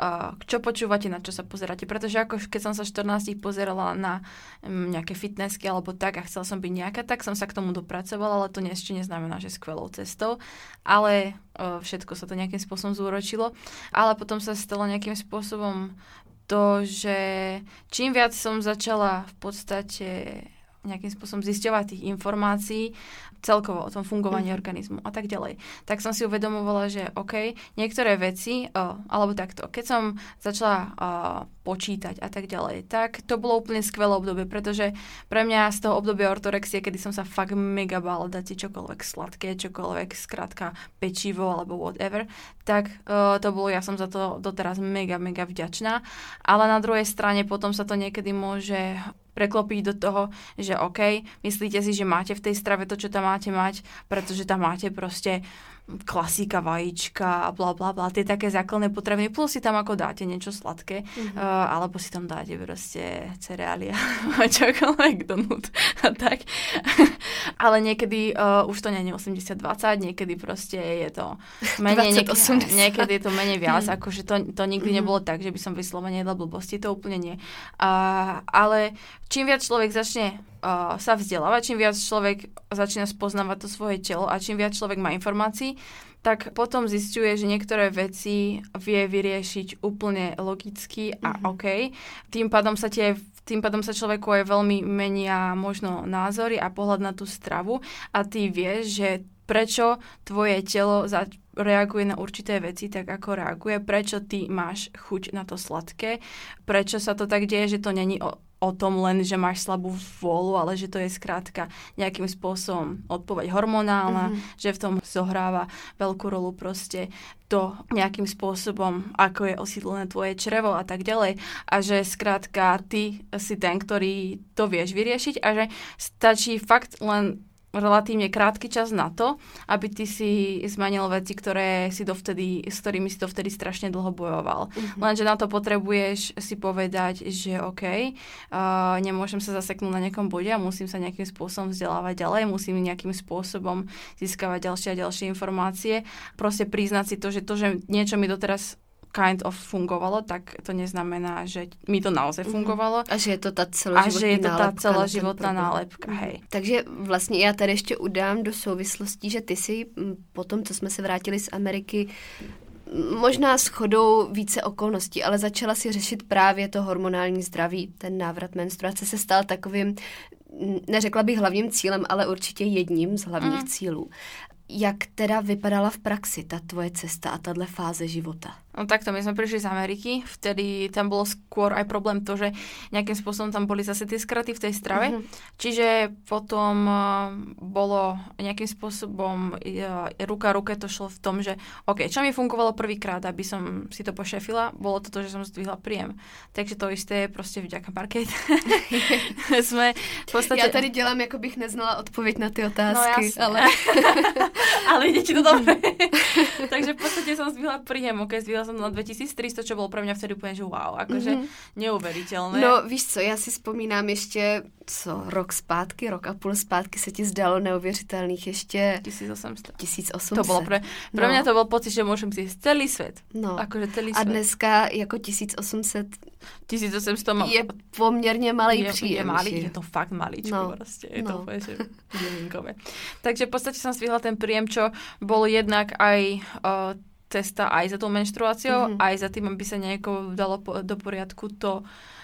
čo počúvate, na čo sa pozeráte. Pretože ako keď som sa štrnásť pozerala na nejaké fitnessky alebo tak a chcela som byť nejaká, tak som sa k tomu dopracovala, ale to ešte neznamená, že skvelou cestou. Ale všetko sa to nejakým spôsobom zúročilo. Ale potom sa stalo nejakým spôsobom to, že čím viac som začala v podstate nejakým spôsobom zisťovať tých informácií celkovo o tom fungovaní mm. organizmu a tak ďalej, tak som si uvedomovala, že OK, niektoré veci, oh, alebo takto, keď som začala oh, počítať a tak ďalej, tak to bolo úplne skvelé obdobie, pretože pre mňa z toho obdobia ortorexie, kedy som sa fakt mega bála dať si čokoľvek sladké, čokoľvek skrátka pečivo alebo whatever, tak uh, to bolo, ja som za to doteraz mega, mega vďačná, ale na druhej strane potom sa to niekedy môže preklopiť do toho, že OK, myslíte si, že máte v tej strave to, čo tam máte mať, pretože tam máte proste klasika, vajíčka a bla bla bla, tie také základné potraviny, plus si tam ako dáte niečo sladké, mm-hmm. uh, alebo si tam dáte proste cereália a čokoľvek donút a tak. Ale niekedy uh, už to nie je osemdesiat dvadsať, niekedy proste je to menej, niek- niekedy je to menej viac, mm. akože to, to nikdy mm-hmm. nebolo tak, že by som vyslovene jedla blbosti, to úplne nie. Uh, ale čím viac človek začne uh, sa vzdelávať, čím viac človek začína spoznávať to svoje telo a čím viac človek má informácií, tak potom zisťuje, že niektoré veci vie vyriešiť úplne logicky a mm-hmm. OK. Tým pádom sa tie tým pádom sa človeku aj veľmi menia možno názory a pohľad na tú stravu a ty vieš, že prečo tvoje telo za- reaguje na určité veci tak, ako reaguje, prečo ty máš chuť na to sladké, prečo sa to tak deje, že to není o, o tom len, že máš slabú vôľu, ale že to je skrátka nejakým spôsobom odpoveď hormonálna, mm-hmm. že v tom zohráva veľkú rolu proste to nejakým spôsobom, ako je osídlené tvoje črevo a tak ďalej. A že skrátka ty si ten, ktorý to vieš vyriešiť a že stačí fakt len relatívne krátky čas na to, aby ty si zmenil veci, ktoré si dovtedy, s ktorými si dovtedy strašne dlho bojoval. Mm-hmm. Lenže na to potrebuješ si povedať, že OK, uh, nemôžem sa zaseknúť na nejakom bode a musím sa nejakým spôsobom vzdelávať ďalej, musím nejakým spôsobom získavať ďalšie a ďalšie informácie. Proste priznať si to, že to, že niečo mi doteraz kind of fungovalo, tak to neznamená, že mi to naozaj fungovalo. A že je to tá celoživotná nálepka. A že je to tá celoživotná nálepka, hej. Takže vlastně já tady ještě udám do souvislostí, že ty si po tom, co jsme se vrátili z Ameriky, možná shodou více okolností, ale začala si řešit právě to hormonální zdraví. Ten návrat menstruace se stal takovým, neřekla bych hlavním cílem, ale určitě jedním z hlavních mm. cílů. Jak teda vypadala v praxi ta tvoje cesta a tahle fáze života? No takto, my sme prišli z Ameriky, vtedy tam bolo skôr aj problém to, že nejakým spôsobom tam boli zase tie skraty v tej strave, mm-hmm. čiže potom uh, bolo nejakým spôsobom uh, ruka ruke to šlo v tom, že OK, čo mi fungovalo prvýkrát, aby som si to pošefila, bolo to to, že som zdvihla príjem. Takže to isté je proste vďaka Market. Sme v podstate... Ja tady dělám, jako bych neznala odpověď na ty otázky, no, ale... ale ide ti to dobre. Takže v podstate som zdvihla príjem, OK, zdvihla som na dvetisíctristo, čo bolo pre mňa vtedy úplne, že wow, akože mm-hmm. neuveriteľné. No víš co, já si vzpomínám ještě, co, rok zpátky, rok a půl zpátky se ti zdalo neuvěřitelných ještě... tisíc osm set. tisíc osm set. To bolo pre, pre no. mňa to bol pocit, že môžem si celý svet. No. Akože celý a svet. dneska jako tisíc osm set tisíc osm set má... je poměrně malý je, příjem. Je, malý, je to fakt maličko no. proste. Je no. to úplne, že mielinkové. Takže v podstate som zvihla ten príjem, čo bol jednak aj... Uh, cesta aj za tou menštruáciou, mm-hmm. aj za tým, aby sa nejako dalo po, do poriadku to,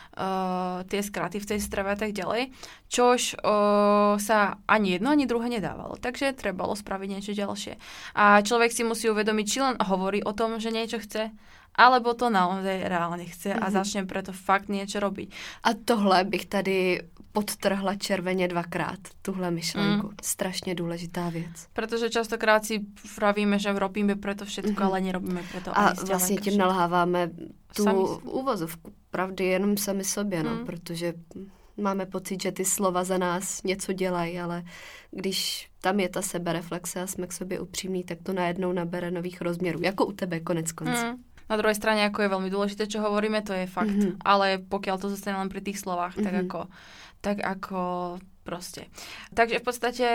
uh, tie skraty v tej strave a tak ďalej. Čož uh, sa ani jedno, ani druhé nedávalo. Takže trebalo spraviť niečo ďalšie. A človek si musí uvedomiť, či len hovorí o tom, že niečo chce, alebo to naozaj reálne chce mm-hmm. a začne preto fakt niečo robiť. A tohle bych tady podtrhla červeně dvakrát, tuhle myšlenku. Mm. Strašně důležitá věc. Protože častokrát si vravíme, že robíme preto všetko, mm-hmm. ale nerobíme preto a vlastně tím nalháváme tu sami... úvozovku pravdy jenom sami sobě, no, mm. protože máme pocit, že ty slova za nás něco dělají, ale když tam je ta sebereflexe a jsme k sobě upřímní, tak to najednou nabere nových rozměrů, jako u tebe konec konců. Mm. Na druhej strane, ako je veľmi dôležité, čo hovoríme, to je fakt. Mm-hmm. Ale pokiaľ to zostane len pri tých slovách, mm-hmm. tak ako tak ako proste. Takže v podstate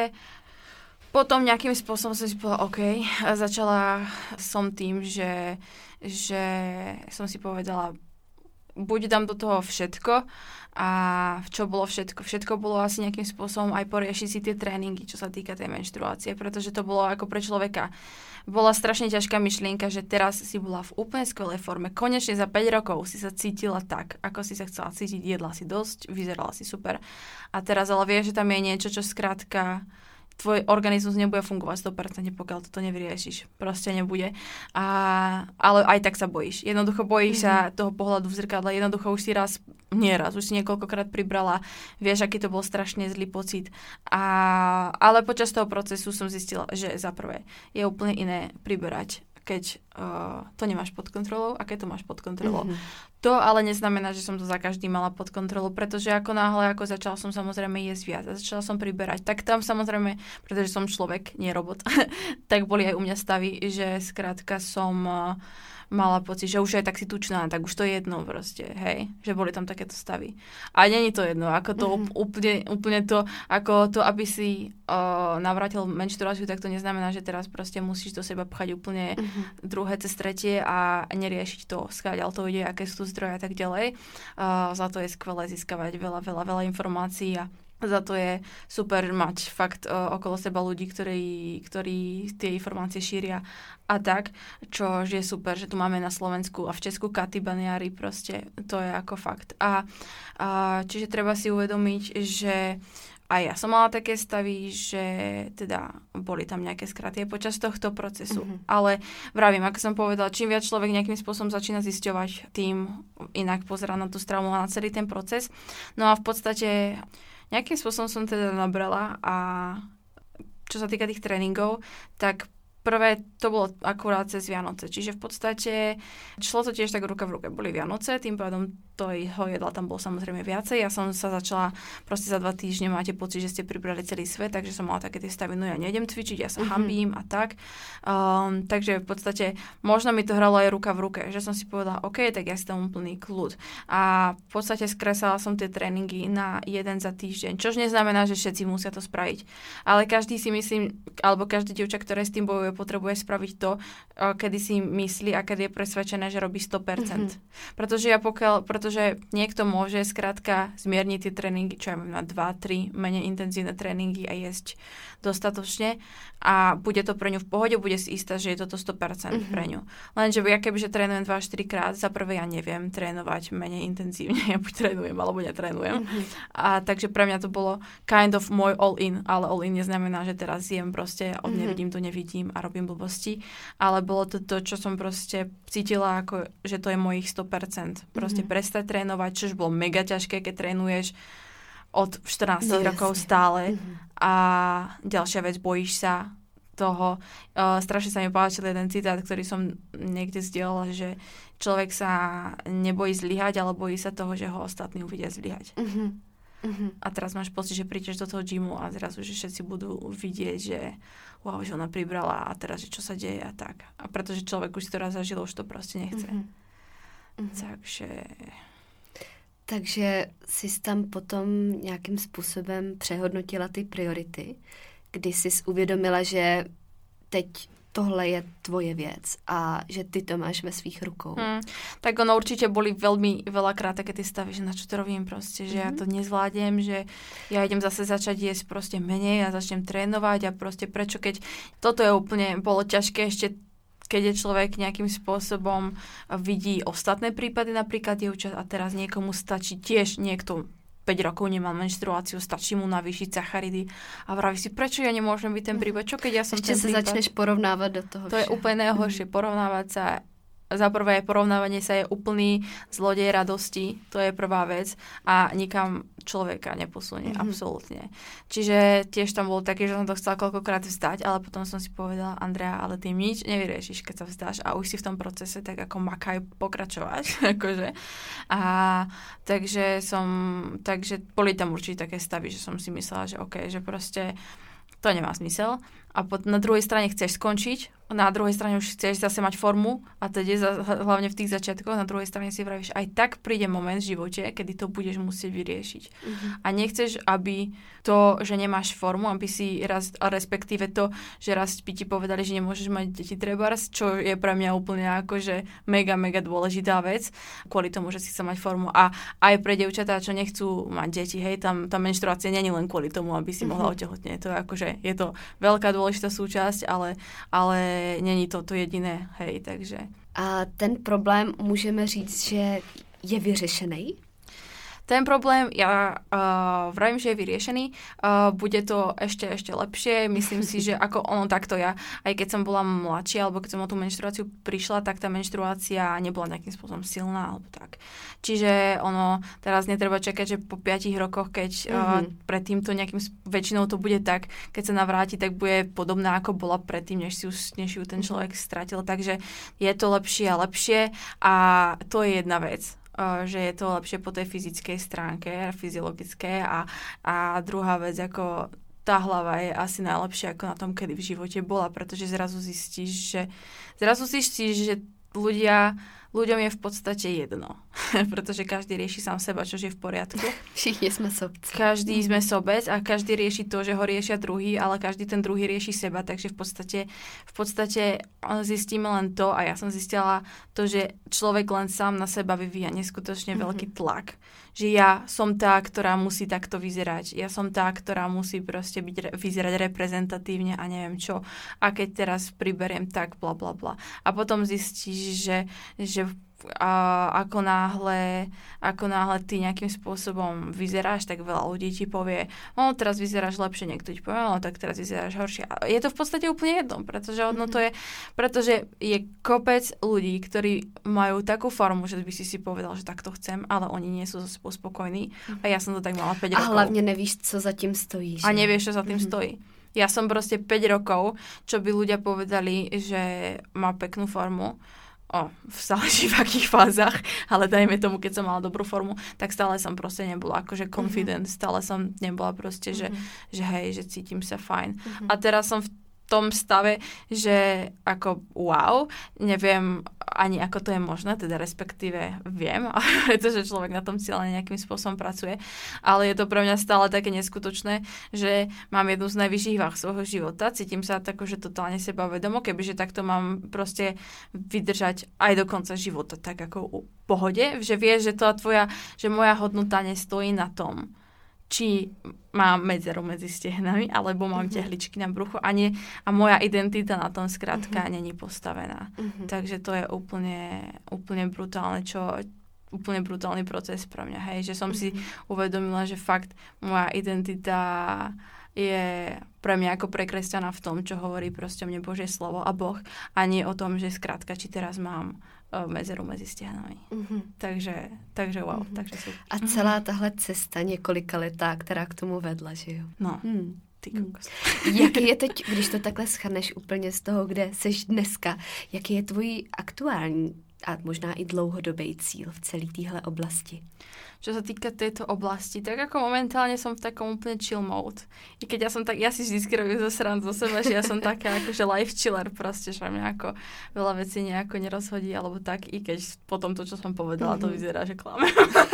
potom nejakým spôsobom som si povedala, OK, a začala som tým, že, že som si povedala, buď dám do toho všetko a čo bolo všetko? Všetko bolo asi nejakým spôsobom aj poriešiť si tie tréningy, čo sa týka tej menštruácie, pretože to bolo ako pre človeka. Bola strašne ťažká myšlienka, že teraz si bola v úplne skvelej forme. Konečne za päť rokov si sa cítila tak, ako si sa chcela cítiť. Jedla si dosť, vyzerala si super. A teraz ale vieš, že tam je niečo, čo skrátka tvoj organizmus nebude fungovať sto percent, pokiaľ toto nevyriešiš. Proste nebude. A, ale aj tak sa bojíš. Jednoducho bojíš mm-hmm. sa toho pohľadu v zrkadle. Jednoducho už si raz, nie raz, už si niekoľkokrát pribrala. Vieš, aký to bol strašne zlý pocit. A, ale počas toho procesu som zistila, že za prvé je úplne iné priberať, keď uh, to nemáš pod kontrolou a keď to máš pod kontrolou. Mm-hmm. To ale neznamená, že som to za každý mala pod kontrolou, pretože ako náhle, ako začala som samozrejme jesť viac a začala som priberať, tak tam samozrejme, pretože som človek, nie robot, tak boli aj u mňa stavy, že skrátka som uh, mala pocit, že už je tak si tučná, tak už to je jedno proste, hej, že boli tam takéto stavy. A není to jedno, ako to mm-hmm. úplne, úplne to, ako to, aby si uh, navrátil menštruáciu, tak to neznamená, že teraz proste musíš do seba pchať úplne mm-hmm. druhé cez tretie a neriešiť to, skáďal to ide, aké sú tu zdroje a tak ďalej. Uh, za to je skvelé získavať veľa, veľa, veľa informácií a za to je super mať fakt uh, okolo seba ľudí, ktorí, ktorí tie informácie šíria a tak, čo je super, že tu máme na Slovensku a v Česku Katy Baniary, proste to je ako fakt. A, a čiže treba si uvedomiť, že aj ja som mala také stavy, že teda boli tam nejaké skraty počas tohto procesu. Mm-hmm. Ale vravím, ako som povedala, čím viac človek nejakým spôsobom začína zisťovať, tým inak pozerá na tú stravu a na celý ten proces. No a v podstate nejakým spôsobom som teda nabrala a čo sa týka tých tréningov, tak prvé to bolo akurát cez Vianoce. Čiže v podstate šlo to tiež tak ruka v ruke. Boli Vianoce, tým pádom toho jedla tam bolo samozrejme viacej. Ja som sa začala proste za dva týždne, máte pocit, že ste pribrali celý svet, takže som mala také tie stavy, no ja nejdem cvičiť, ja sa mm-hmm. hambím a tak. Um, takže v podstate možno mi to hralo aj ruka v ruke, že som si povedala, OK, tak ja si tam úplný kľud. A v podstate skresala som tie tréningy na jeden za týždeň, čož neznamená, že všetci musia to spraviť. Ale každý si myslím, alebo každý dievča, ktoré s tým bojuje, potrebuje spraviť to, kedy si myslí a kedy je presvedčené, že robí sto percent. Mm-hmm. Pretože ja pokiaľ, pretože niekto môže skrátka zmierniť tie tréningy, čo ja mám na dva tri menej intenzívne tréningy a jesť dostatočne a bude to pre ňu v pohode, bude si istá, že je toto sto percent mm-hmm. pre ňu. Lenže ja kebyže trénujem dva až štyri krát, za prvé ja neviem trénovať menej intenzívne, ja buď trénujem, alebo netrénujem. Mm-hmm. A takže pre mňa to bolo kind of môj all-in, ale all-in neznamená, že teraz jem proste, od mm-hmm. nevidím to nevidím a robím blbosti, ale bolo to to, čo som proste cítila, ako, že to je mojich sto percent. Proste mm-hmm. prestať trénovať, čož bolo mega ťažké, keď trénuješ od štrnásť no, rokov jasne. Stále mm-hmm. a ďalšia vec, bojíš sa toho. Uh, strašne sa mi páčil jeden citát, ktorý som niekde zdieľala, že človek sa nebojí zlyhať, ale bojí sa toho, že ho ostatní uvidia zlyhať. Mm-hmm. Mm-hmm. A teraz máš pocit, že prídeš do toho gymu a zrazu, že všetci budú vidieť, že wow, že ona pribrala a teraz, že čo sa deje a tak. A pretože človek už si to raz zažil, už to proste nechce. Mm-hmm. Takže... Takže jsi tam potom nějakým způsobem přehodnotila ty priority, kdy jsi uvědomila, že teď tohle je tvoje věc a že ty to máš ve svých rukou. Hmm. Tak ono určite boli veľmi veľakrát také tie stavy, že na čo to robím proste, že mm-hmm. ja to nezvládnem, že ja idem zase začať jesť proste menej a začnem trénovať a proste prečo, keď toto je úplne, bolo ťažké ešte keď je človek nejakým spôsobom vidí ostatné prípady, napríklad dievčat a teraz niekomu stačí tiež niekto päť rokov nemal menštruáciu, stačí mu navýšiť sacharidy a vraví si, prečo ja nemôžem byť ten prípad, čo keď ja som ešte ten prípad. Ešte sa začneš porovnávať do toho. To vše. Je úplne najhoršie, porovnávať sa. Za prvé porovnávanie sa je úplný zlodej radosti, to je prvá vec a nikam človeka neposunie, mm-hmm. absolútne. Čiže tiež tam bolo také, že som to chcela koľkokrát vzdať, ale potom som si povedala, Andrea, ale ty nič nevyriešiš, keď sa vzdáš a už si v tom procese tak ako makaj pokračovať. akože. A takže som, takže boli tam určite také stavy, že som si myslela, že OK, že proste to nemá zmysel. A pod, na druhej strane chceš skončiť, na druhej strane už chceš zase mať formu a teda za, hlavne v tých začiatkoch, na druhej strane si vravíš, aj tak príde moment v živote, kedy to budeš musieť vyriešiť. Mm-hmm. A nechceš, aby to, že nemáš formu, aby si raz, respektíve to, že raz by ti povedali, že nemôžeš mať deti trebárs, čo je pre mňa úplne akože mega, mega dôležitá vec, kvôli tomu, že si chce mať formu. A aj pre dievčatá, čo nechcú mať deti, hej, tam tá menštruácia nie je len kvôli tomu, aby si mohla otehotnieť. To je akože, je to veľká dôležitá súčasť, ale, ale není to to jediné, hej, takže. A ten problém můžeme říct, že je vyřešený? ten problém, ja uh, vravím, že je vyriešený, uh, bude to ešte, ešte lepšie, myslím si, že ako ono takto ja, aj keď som bola mladšia, alebo keď som o tú menštruáciu prišla, tak tá menštruácia nebola nejakým spôsobom silná, alebo tak. Čiže ono, teraz netreba čakať, že po piatich rokoch, keď mm-hmm. uh, predtým to nejakým, väčšinou to bude tak, keď sa navráti, tak bude podobná, ako bola predtým, než si už, než ju ten človek stratil. Takže je to lepšie a lepšie a to je jedna vec, uh, že je to lepšie po tej fyzickej stránke, fyziologické a, a druhá vec, ako tá hlava je asi najlepšia ako na tom, kedy v živote bola, pretože zrazu zistíš, že zrazu zistíš, že ľudia ľuďom je v podstate jedno, pretože každý rieši sám seba, čo je v poriadku. Všichni sme sobci. Každý sme sobec a každý rieši to, že ho riešia druhý, ale každý ten druhý rieši seba, takže v podstate, v podstate zistíme len to a ja som zistila to, že človek len sám na seba vyvíja neskutočne mm-hmm. veľký tlak. Že ja som tá, ktorá musí takto vyzerať. Ja som tá, ktorá musí proste byť, vyzerať reprezentatívne a neviem čo. A keď teraz priberiem tak, bla bla bla. A potom zistíš, že, že a ako náhle, ako náhle ty nejakým spôsobom vyzeráš, tak veľa ľudí ti povie, no teraz vyzeráš lepšie, niekto ti povie, no tak teraz vyzeráš horšie. A je to v podstate úplne jedno, pretože ono to je, pretože je kopec ľudí, ktorí majú takú formu, že by si si povedal, že takto chcem, ale oni nie sú so sebou spokojní. A ja som to tak mala päť a rokov. A hlavne nevíš, co za tým stojí. Že? A nevieš, čo za tým mm-hmm. stojí. Ja som proste päť rokov, čo by ľudia povedali, že má peknú formu, O, záleží v akých fázach, ale dajme tomu, keď som mala dobrú formu, tak stále som proste nebola akože confident, mm-hmm. stále som nebola proste, že, mm-hmm. že hej, že cítim sa fajn. Mm-hmm. A teraz som v tom stave, že ako wow, neviem ani ako to je možné, teda respektíve viem, pretože človek na tom cieľene nejakým spôsobom pracuje, ale je to pre mňa stále také neskutočné, že mám jednu z najvyšších váh svojho života, cítim sa tak, že totálne sebavedomo, kebyže takto mám proste vydržať aj do konca života, tak ako u pohode, že vieš, že to tvoja, že moja hodnota nestojí na tom, či mám medzeru medzi stehnami, alebo mám uh-huh. tehličky na bruchu a, nie, a moja identita na tom skrátka uh-huh. není postavená. Uh-huh. Takže to je úplne, úplne brutálne, čo úplne brutálny proces pre mňa, hej, že som uh-huh. si uvedomila, že fakt moja identita je pre mňa ako pre kresťana v tom, čo hovorí proste mne Božie slovo a Boh, a nie o tom, že skrátka, či teraz mám medzeru mezi stehnami. Mm-hmm. Takže, takže wow, mm-hmm. takže super. A celá tahle cesta několika letá, která k tomu vedla, že jo? No, hmm. ty kokos. Jaký je teď, když to takhle schrneš úplně z toho, kde seš dneska, jaký je tvůj aktuální a možná i dlouhodobý cíl v celé téhle oblasti? Čo sa týka tejto oblasti, tak ako momentálne som v takom úplne chill mode. I keď ja som tak, ja si vždycky robím zo srandu zo seba, že ja som taká akože life chiller proste, že mňa ako veľa vecí nejako nerozhodí, alebo tak, i keď potom to, čo som povedala, mm-hmm. to vyzerá, že klamem.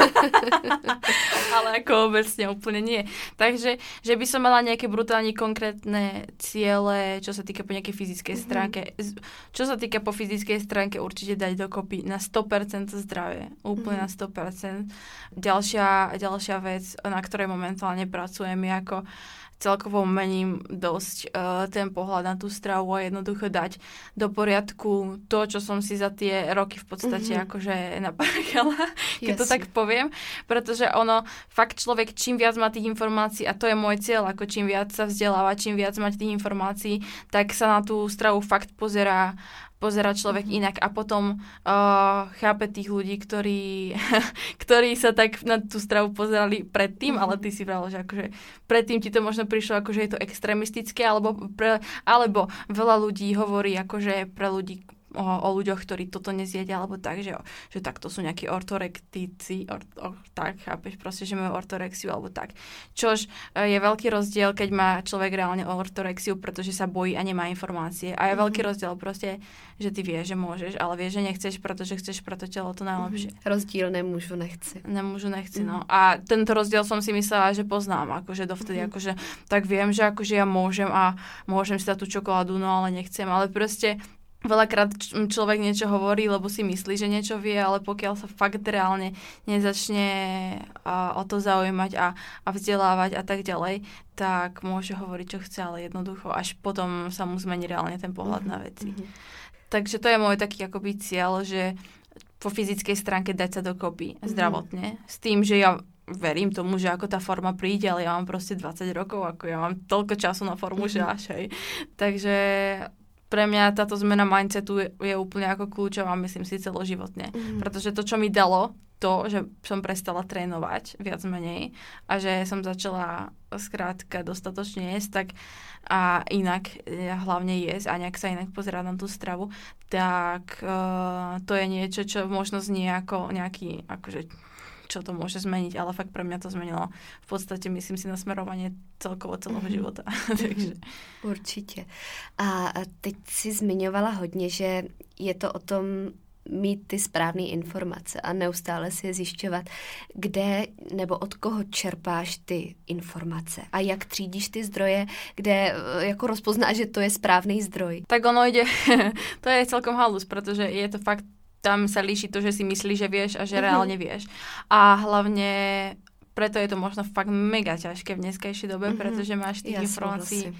Ale ako obecne úplne nie. Takže, že by som mala nejaké brutálne konkrétne ciele, čo sa týka po nejakej fyzickej mm-hmm. stránke. Čo sa týka po fyzickej stránke, určite dať dokopy na sto percent zdravie. Úplne mm-hmm. na sto percent. Ďalšia, ďalšia vec, na ktorej momentálne pracujem, je ako celkovo mením dosť uh, ten pohľad na tú stravu a jednoducho dať do poriadku to, čo som si za tie roky v podstate mm-hmm. akože naparkala, keď yes. to tak poviem, pretože ono, fakt človek čím viac má tých informácií, a to je môj cieľ, ako čím viac sa vzdeláva, čím viac mať tých informácií, tak sa na tú stravu fakt pozerá pozerá človek mm-hmm. inak a potom uh, chápe tých ľudí, ktorí, ktorí sa tak na tú stravu pozerali predtým, mm-hmm. ale ty si vravel, že akože predtým ti to možno prišlo ako, že je to extrémistické, alebo, pre, alebo veľa ľudí hovorí akože pre ľudí o, o ľuďoch, ktorí toto nezjedia, alebo tak, že, že takto sú nejakí ortorektíci, or, or, tak, chápeš, proste, že majú ortorexiu, alebo tak. Čož je veľký rozdiel, keď má človek reálne ortorexiu, pretože sa bojí a nemá informácie. A je mm-hmm. veľký rozdiel proste, že ty vieš, že môžeš, ale vieš, že nechceš, pretože chceš pre to telo to najlepšie. Mm-hmm. Rozdíl nemôžu, nechci. Nemôžu, nechci, mm-hmm. no. A tento rozdiel som si myslela, že poznám, akože dovtedy, mm-hmm. akože tak viem, že akože ja môžem a môžem si dať tú čokoládu, no ale nechcem, ale proste veľakrát človek niečo hovorí, lebo si myslí, že niečo vie, ale pokiaľ sa fakt reálne nezačne a, o to zaujímať a, a vzdelávať a tak ďalej, tak môže hovoriť, čo chce, ale jednoducho až potom sa mu zmení reálne ten pohľad mm-hmm. na veci. Mm-hmm. Takže to je môj taký akoby cieľ, že po fyzickej stránke dať sa dokopy mm-hmm. zdravotne, s tým, že ja verím tomu, že ako tá forma príde, ale ja mám proste dvadsať rokov, ako ja mám toľko času na formu, mm-hmm. že až, hej. Takže pre mňa táto zmena mindsetu je, je úplne ako kľúčová, myslím si, celoživotne. Mm-hmm. Pretože to, čo mi dalo, to, že som prestala trénovať viac menej a že som začala skrátka dostatočne jesť, tak a inak hlavne jesť a nejak sa inak pozerať na tú stravu, tak uh, to je niečo, čo možno znie ako nejaký, akože čo to môže zmeniť, ale fakt pre mňa to zmenilo v podstate, myslím si, nasmerovanie celkovo celého mm-hmm. života. Takže. Určitě. A teď si zmiňovala hodně, že je to o tom mít ty správné informace a neustále si je zjišťovat, kde nebo od koho čerpáš ty informace a jak třídíš ty zdroje, kde jako rozpoznáš, že to je správný zdroj. Tak ono ide, to je celkom halus, protože je to fakt, tam sa líši to, že si myslíš, že vieš a že reálne vieš. A hlavne preto je to možno fakt mega ťažké v dneskejšej dobe, mm-hmm. pretože máš tých ja informácií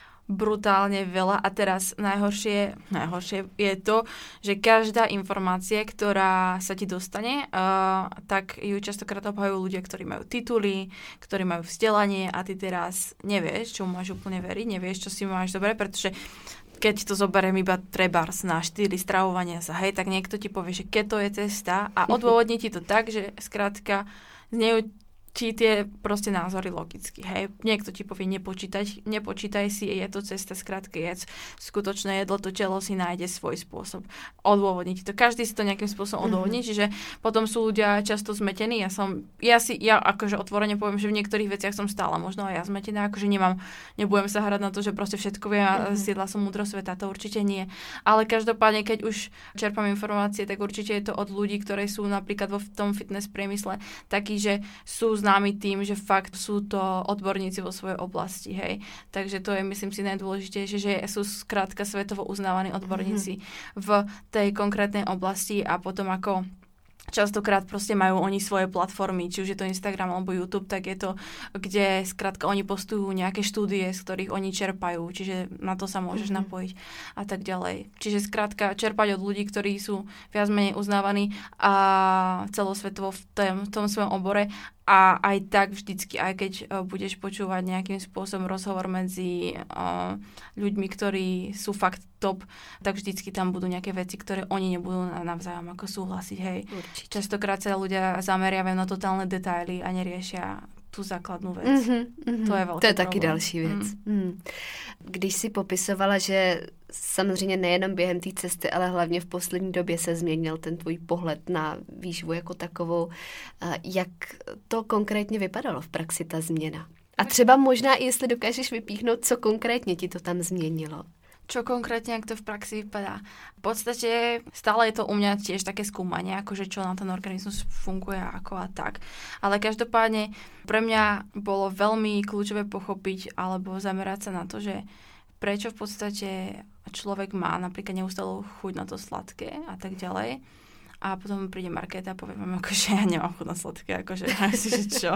brutálne veľa a teraz najhoršie, najhoršie je to, že každá informácia, ktorá sa ti dostane, uh, tak ju častokrát obhajujú ľudia, ktorí majú tituly, ktorí majú vzdelanie a ty teraz nevieš, čo máš úplne veriť, nevieš, čo si máš dobre, pretože keď to zoberiem iba trebárs na štyri stravovania sa, hej, tak niekto ti povie, že keto je cesta a odôvodní ti to tak, že skrátka znejú ti tie proste názory logicky, hej. Niekto ti povie nepočítať, nepočítaj si, je to cesta, skrátka jedz skutočné jedlo, to telo si nájde svoj spôsob. Odôvodniť to. Každý si to nejakým spôsobom odôvodní, mm-hmm. čiže potom sú ľudia často zmetení. Ja som, ja si, ja akože otvorene poviem, že v niektorých veciach som stála možno aj ja zmetená, akože nemám, nebudem sa hrať na to, že proste všetko viem a mm-hmm. zjedla som múdro sveta, to určite nie. Ale každopádne, keď už čerpám informácie, tak určite je to od ľudí, ktorí sú napríklad vo tom fitness priemysle takí, že sú známi tým, že fakt sú to odborníci vo svojej oblasti, hej. Takže to je, myslím si, najdôležitejšie, že sú skrátka svetovo uznávaní odborníci mm-hmm. v tej konkrétnej oblasti a potom ako častokrát proste majú oni svoje platformy, či už je to Instagram alebo YouTube, tak je to, kde skrátka oni postujú nejaké štúdie, z ktorých oni čerpajú, čiže na to sa môžeš mm-hmm. napojiť a tak ďalej. Čiže skrátka čerpať od ľudí, ktorí sú viac menej uznávaní a celosvetovo v tom, v tom svojom obore a aj tak vždycky, aj keď uh, budeš počúvať nejakým spôsobom rozhovor medzi uh, ľuďmi, ktorí sú fakt top, tak vždycky tam budú nejaké veci, ktoré oni nebudú navzájom ako súhlasiť, hej. Určite. Častokrát sa ľudia zameriavajú na totálne detaily a neriešia tu základnú vec. Mm-hmm, mm-hmm. To je velký To je problém. taky další věc. Mm. Mm. Když si popisovala, že samozřejmě nejenom během té cesty, ale hlavně v poslední době se změnil ten tvůj pohled na výživu jako takovou, jak to konkrétně vypadalo v praxi, ta změna? A třeba možná i jestli dokážeš vypíchnout, co konkrétně ti to tam změnilo. Čo konkrétne, ak to v praxi vypadá? V podstate stále je to u mňa tiež také skúmanie, akože čo na ten organizmus funguje ako a tak. Ale každopádne pre mňa bolo veľmi kľúčové pochopiť alebo zamerať sa na to, že prečo v podstate človek má napríklad neustále chuť na to sladké a tak ďalej. A potom príde Markéta a povie vám, akože ja nemám chuť na sladké, akože, že čo?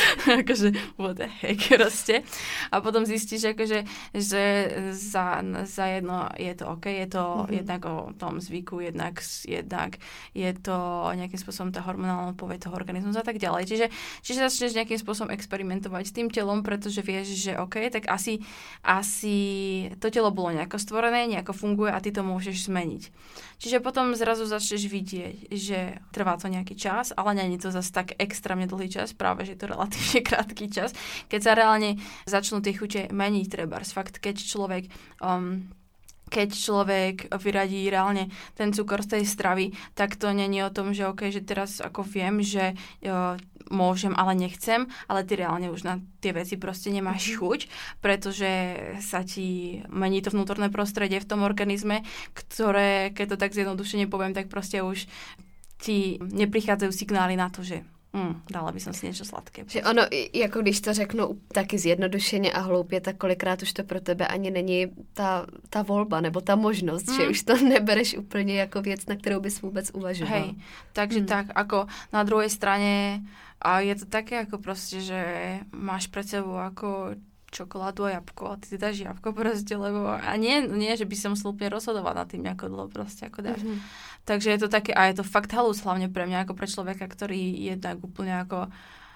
akože, what the heck, proste. A potom zistíš, akože, že za, za jedno je to OK, je to mm-hmm. jednak o tom zvyku, jednak, jednak je to nejakým spôsobom tá hormonálna odpoveď toho organizmu a tak ďalej. Čiže, čiže začneš nejakým spôsobom experimentovať s tým telom, pretože vieš, že OK, tak asi, asi to telo bolo nejako stvorené, nejako funguje a ty to môžeš zmeniť. Čiže potom zrazu začneš vidieť, že trvá to nejaký čas, ale nie je to zase tak extrémne dlhý čas, práve že je to relatívne krátky čas, keď sa reálne začnú tie chute meniť trebárs. Fakt, keď človek um, keď človek vyradí reálne ten cukor z tej stravy, tak to není o tom, že OK, že teraz ako viem, že uh, môžem, ale nechcem, ale ty reálne už na tie veci proste nemáš chuť, pretože sa ti mení to vnútorné prostredie v tom organizme, ktoré, keď to tak zjednodušene poviem, tak proste už ti neprichádzajú signály na to, že Mm, dala by som si niečo sladké. Že ono, jako když to řeknu taky zjednodušeně a hloupě, tak kolikrát už to pro tebe ani není ta, ta volba nebo ta možnost, mm. že už to nebereš úplně jako věc, na kterou bys vůbec uvažoval. Hej, takže mm. tak, ako na druhej strane a je to také ako proste, že máš pred sebou ako čokoládu a jabko a ty si dáš jabko proste, lebo a nie, nie, že by som musel úplne rozhodovať nad tým, ako dlho proste ako dáš. Mm-hmm. Takže je to také, a je to fakt halus, hlavne pre mňa, ako pre človeka, ktorý jednak úplne ako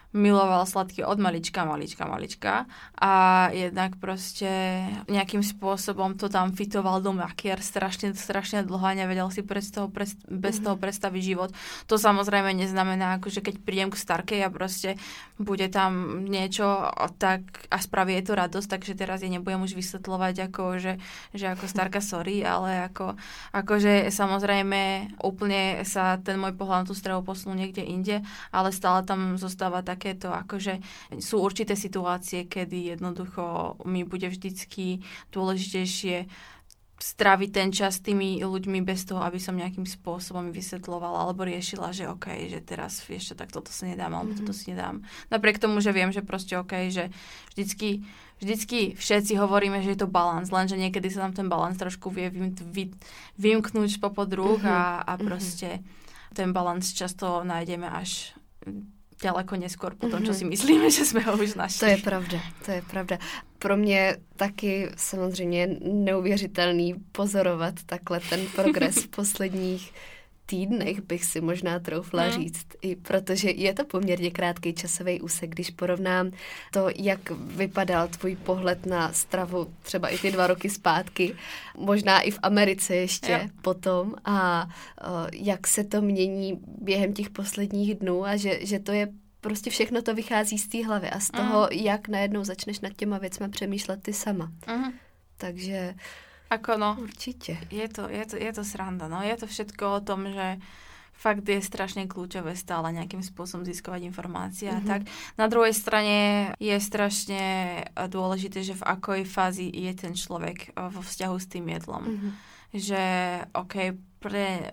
miloval sladké od malička, malička, malička a jednak proste nejakým spôsobom to tam fitoval do makier strašne, strašne dlho a nevedel si bez toho, bez, bez toho predstaviť život. To samozrejme neznamená, akože keď prídem k starkej a proste bude tam niečo, tak a spraví jej to radosť, takže teraz jej nebudem už vysvetľovať, ako, že, že ako starka sorry, ale ako, akože samozrejme úplne sa ten môj pohľad na tú stravu posunul niekde inde, ale stále tam zostáva tak takéto, akože sú určité situácie, kedy jednoducho mi bude vždycky dôležitejšie stráviť ten čas s tými ľuďmi bez toho, aby som nejakým spôsobom vysvetľovala alebo riešila, že OK, že teraz vieš čo, tak toto si nedám, alebo mm-hmm. toto si nedám. Napriek tomu, že viem, že proste OK, že vždycky, vždycky všetci hovoríme, že je to balans, lenže niekedy sa tam ten balans trošku vie vym, vy, vymknúť popod rúk mm-hmm. a, a proste mm-hmm. ten balans často nájdeme až ďaleko neskôr po tom, čo si myslíme, že jsme ho už našli. To je pravda, to je pravda. Pro mě taky samozřejmě neuvěřitelný pozorovat takhle ten progres v posledních týdnech, bych si možná troufla hmm. říct, i protože je to poměrně krátký časový úsek, když porovnám to, jak vypadal tvůj pohled na stravu třeba i ty dva roky zpátky, možná i v Americe ještě jo. potom a uh, jak se to mění během těch posledních dnů a že, že to je prostě všechno to vychází z té hlavy a z toho, mm. jak najednou začneš nad těma věcmi přemýšlet ty sama. Mm. Takže ako no, určitě. Je to, je, to, je to sranda, no. Je to všetko o tom, že fakt je strašne kľúčové stále nejakým spôsobom získovať informácie mm-hmm. a tak. Na druhej strane je strašne dôležité, že v akoj fázi je ten človek vo vzťahu s tým jedlom. Mm-hmm. Že OK, pre...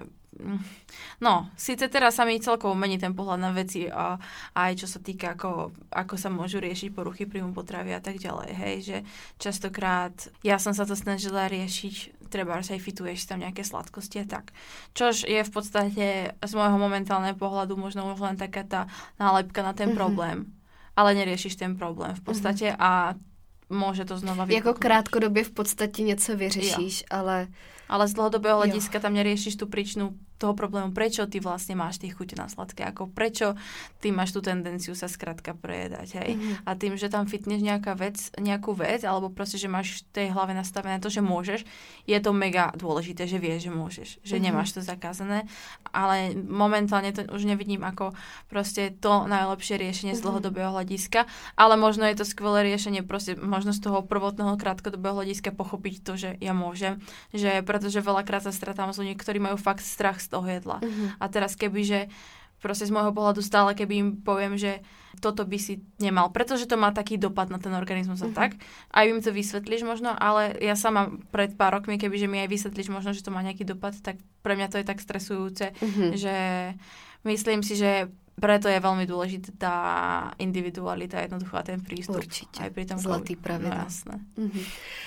No, síce teraz sa mi celkovo mení ten pohľad na veci a aj čo sa týka, ako, ako sa môžu riešiť poruchy príjmu potravy a tak ďalej, hej, že častokrát ja som sa to snažila riešiť, treba aj fituješ tam nejaké sladkosti a tak. Čož je v podstate z môjho momentálneho pohľadu možno už len taká tá nálepka na ten mm-hmm. problém, ale neriešiš ten problém v podstate mm-hmm. a môže to znova vypuknúť. Jako krátkodobě v podstatě něco vyřešíš, jo. ale... Ale z dlhodobého hľadiska tam neriešiš tú príčinu toho problému, prečo ty vlastne máš tie chute na sladké, ako prečo ty máš tú tendenciu sa skrátka prejedať, hej. Mm-hmm. A tým, že tam fitneš nejaká vec, nejakú vec, alebo proste, že máš v tej hlave nastavené to, že môžeš, je to mega dôležité, že vieš, že môžeš, že mm-hmm. nemáš to zakázané, ale momentálne to už nevidím ako proste to najlepšie riešenie mm-hmm. z dlhodobého hľadiska, ale možno je to skvelé riešenie, proste možno z toho prvotného krátkodobého hľadiska pochopiť to, že ja môžem, že pretože veľakrát sa stretám s ľuďmi, ktorí majú fakt strach z toho jedla. Uh-huh. A teraz keby, že proste z môjho pohľadu stále, keby im poviem, že toto by si nemal, pretože to má taký dopad na ten organizmus a uh-huh. tak, aj im to vysvetlíš možno, ale ja sama pred pár rokmi, keby, že mi aj vysvetlíš možno, že to má nejaký dopad, tak pre mňa to je tak stresujúce, uh-huh. že myslím si, že preto je veľmi dôležitá tá individualita, jednoducho a ten prístup. Určite. Aj pri tom Zlatý pravidla. No, jasné. Uh-huh.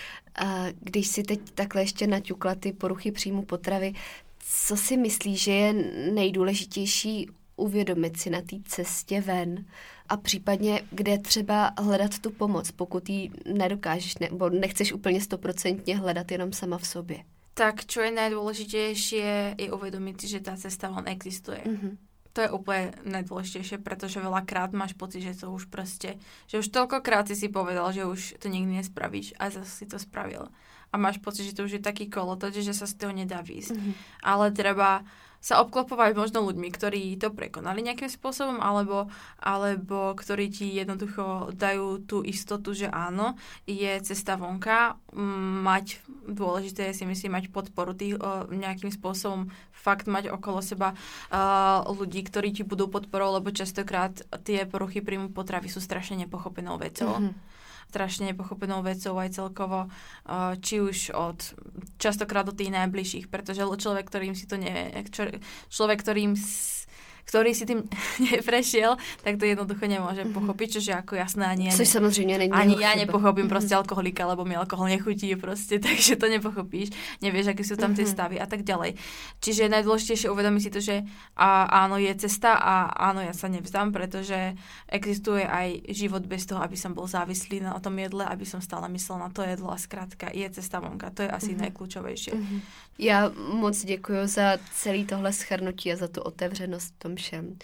A když si teď takhle ještě naťukla ty poruchy příjmu potravy, co si myslíš, že je nejdůležitější uvědomit si na té cestě ven a případně kde třeba hledat tu pomoc, pokud ji nedokážeš nebo nechceš úplně stoprocentně hledat jenom sama v sobě? Tak čo je najdôležitejšie je uvedomiť si, že tá cesta len existuje. Mm-hmm. To je úplne najdôležitejšie, pretože veľakrát máš pocit, že to už proste, že už toľkokrát si si povedal, že už to nikdy nespravíš a zase si to spravil. A máš pocit, že to už je taký kolotoč, že sa z toho nedá výjsť. Mm-hmm. Ale treba sa obklopovať možno ľuďmi, ktorí to prekonali nejakým spôsobom, alebo, alebo ktorí ti jednoducho dajú tú istotu, že áno, je cesta vonka, mať, dôležité je si myslím, mať podporu tých o, nejakým spôsobom, fakt mať okolo seba uh, ľudí, ktorí ti budú podporou, lebo častokrát tie poruchy príjmu potravy sú strašne nepochopenou vecou. Mm-hmm. strašne nepochopenou vecou aj celkovo, či už od častokrát od tých najbližších, pretože človek, ktorým si to nevie, človek, ktorým ktorý si tým neprešiel, tak to jednoducho nemôže mm-hmm. pochopiť, čože ako jasné ani ja, Což samozřejmě není ani ja chyba. nepochopím mm-hmm. proste alkoholika, lebo mi alkohol nechutí proste, takže to nepochopíš, nevieš, aké sú tam mm-hmm. tie stavy a tak ďalej. Čiže najdôležitejšie uvedomiť si to, že a, áno, je cesta a áno, ja sa nevzdám, pretože existuje aj život bez toho, aby som bol závislý na tom jedle, aby som stále myslel na to jedlo a skrátka je cesta vonka, to je asi mm-hmm. najkľúčovejšie. Mm-hmm. Já moc děkuji za celý tohle shrnutí a za tu otevřenost v tom všem.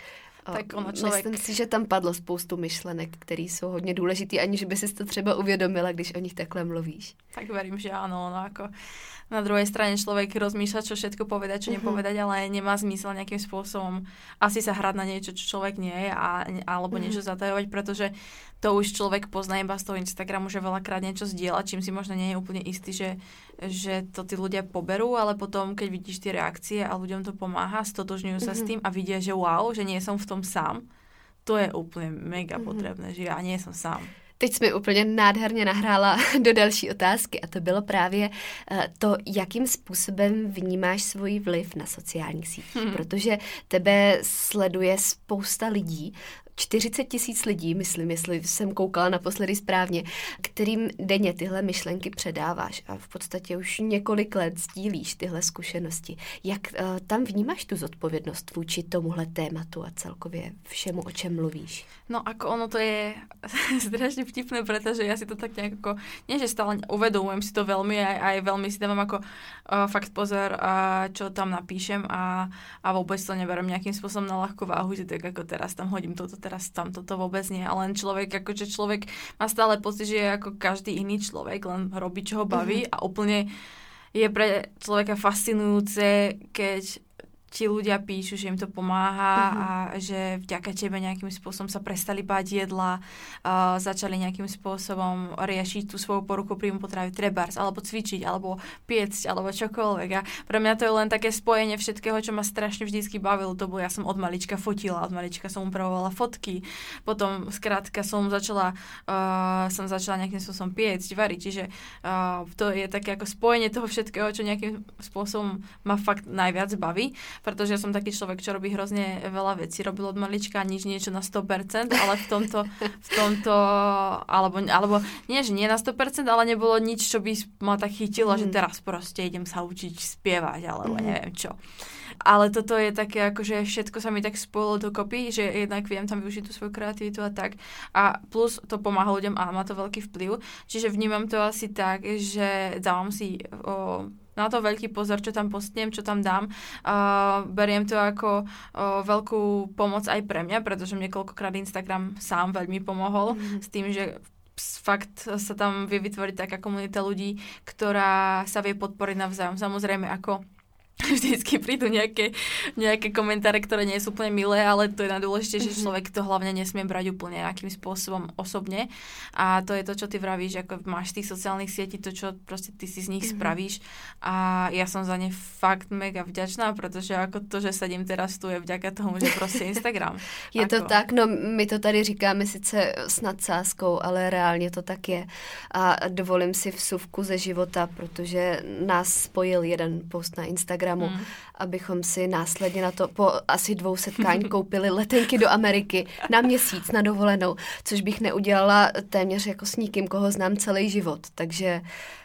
tak ono člověk... Myslím si, že tam padlo spoustu myšlenek, které jsou hodně důležitý, aniž by si to třeba uvědomila, když o nich takhle mluvíš. Tak verím, že áno, no ako na druhej strane človek rozmýšľa, čo všetko povedať, čo uh-huh. nepovedať, ale nemá zmysel nejakým spôsobom asi sa hrať na niečo, čo človek nie je, a, alebo uh-huh. niečo zatajovať, pretože to už človek pozná iba z toho Instagramu, že veľakrát niečo zdieľa, čím si možno nie je úplne istý, že, že to tí ľudia poberú, ale potom, keď vidíš tie reakcie a ľuďom to pomáha, stotožňujú sa uh-huh. s tým a vidia, že wow, že nie som v tom sám, to je úplne mega uh-huh. potrebné, že ja nie som sám. Teď jsi mi úplně nádherně nahrála do další otázky a to bylo právě to, jakým způsobem vnímáš svůj vliv na sociálních sítích, hmm. protože tebe sleduje spousta lidí, čtyřicet tisíc lidí, myslím, jestli jsem koukala naposledy správně, kterým denně tyhle myšlenky předáváš a v podstatě už několik let sdílíš tyhle zkušenosti. Jak uh, tam vnímáš tu zodpovědnost vůči tomuhle tématu a celkově všemu, o čem mluvíš? No ako ono to je strašne vtipné, pretože ja si to tak nejak ako, nie že stále uvedomujem si to veľmi, aj, aj veľmi si dávam ako uh, fakt pozor, uh, čo tam napíšem a, a vôbec to neberiem nejakým spôsobom na ľahkú váhu, že tak ako teraz tam hodím toto, teraz tam toto vôbec nie, ale len človek, akože človek má stále pocit, že je ako každý iný človek, len robí, čo ho baví mm-hmm. a úplne je pre človeka fascinujúce, keď ti ľudia píšu, že im to pomáha uh-huh. a že vďaka tebe nejakým spôsobom sa prestali báť jedla, uh, začali nejakým spôsobom riešiť tú svoju poruchu príjmu potravy, trebárs, alebo cvičiť, alebo piecť, alebo čokoľvek. A pre mňa to je len také spojenie všetkého, čo ma strašne vždycky bavilo. To bolo, ja som od malička fotila, od malička som upravovala fotky, potom skrátka som začala uh, som začala nejakým spôsobom piecť, variť, čiže uh, to je také ako spojenie toho všetkého, čo nejakým spôsobom ma fakt najviac baví. Pretože ja som taký človek, čo robí hrozne veľa vecí, robil od malička nič niečo na sto percent, ale v tomto, v tomto alebo, alebo nie, že nie na sto percent, ale nebolo nič, čo by ma tak chytilo, mm. že teraz proste idem sa učiť spievať, alebo mm. neviem čo. Ale toto je také, akože všetko sa mi tak spojilo dokopy, že jednak viem tam využiť tú svoju kreativitu a tak. A plus to pomáha ľuďom a má to veľký vplyv. Čiže vnímam to asi tak, že dávam si o, na to veľký pozor, čo tam postnem, čo tam dám. Uh, beriem to ako uh, veľkú pomoc aj pre mňa, pretože mne koľkokrát Instagram sám veľmi pomohol mm. s tým, že fakt sa tam vie vytvoriť taká komunita ľudí, ktorá sa vie podporiť navzájom. Samozrejme ako vždycky prídu nejaké, nejaké komentáre, ktoré nie sú úplne milé, ale to je najdôležitejšie, že človek to hlavne nesmie brať úplne nejakým spôsobom osobne. A to je to, čo ty vravíš, ako máš z tých sociálnych sietí, to, čo proste ty si z nich mm-hmm. spravíš. A ja som za ne fakt mega vďačná, pretože ako to, že sedím teraz tu, je vďaka tomu, že proste Instagram. Je ako... to tak, no my to tady říkáme sice s nadsázkou, ale reálně to tak je. A dovolím si vsuvku ze života, protože nás spojil jeden post na Instagram, Hmm. abychom si následně na to po asi dvou setkání koupili letenky do Ameriky na měsíc na dovolenou, což bych neudělala téměř jako s nikým, koho znám celý život. Takže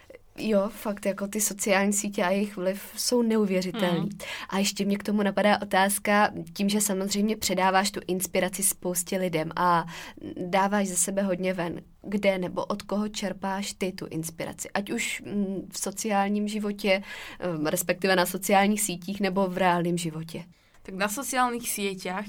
jo, fakt jako ty sociální sítě a jejich vliv jsou neuvěřitelný. Mm. A ještě mě k tomu napadá otázka, tím, že samozřejmě předáváš tu inspiraci spoustě lidem a dáváš ze sebe hodně ven. Kde nebo od koho čerpáš ty tu inspiraci? Ať už v sociálním životě, respektive na sociálních sítích nebo v reálném životě. Tak na sociálnych sieťach,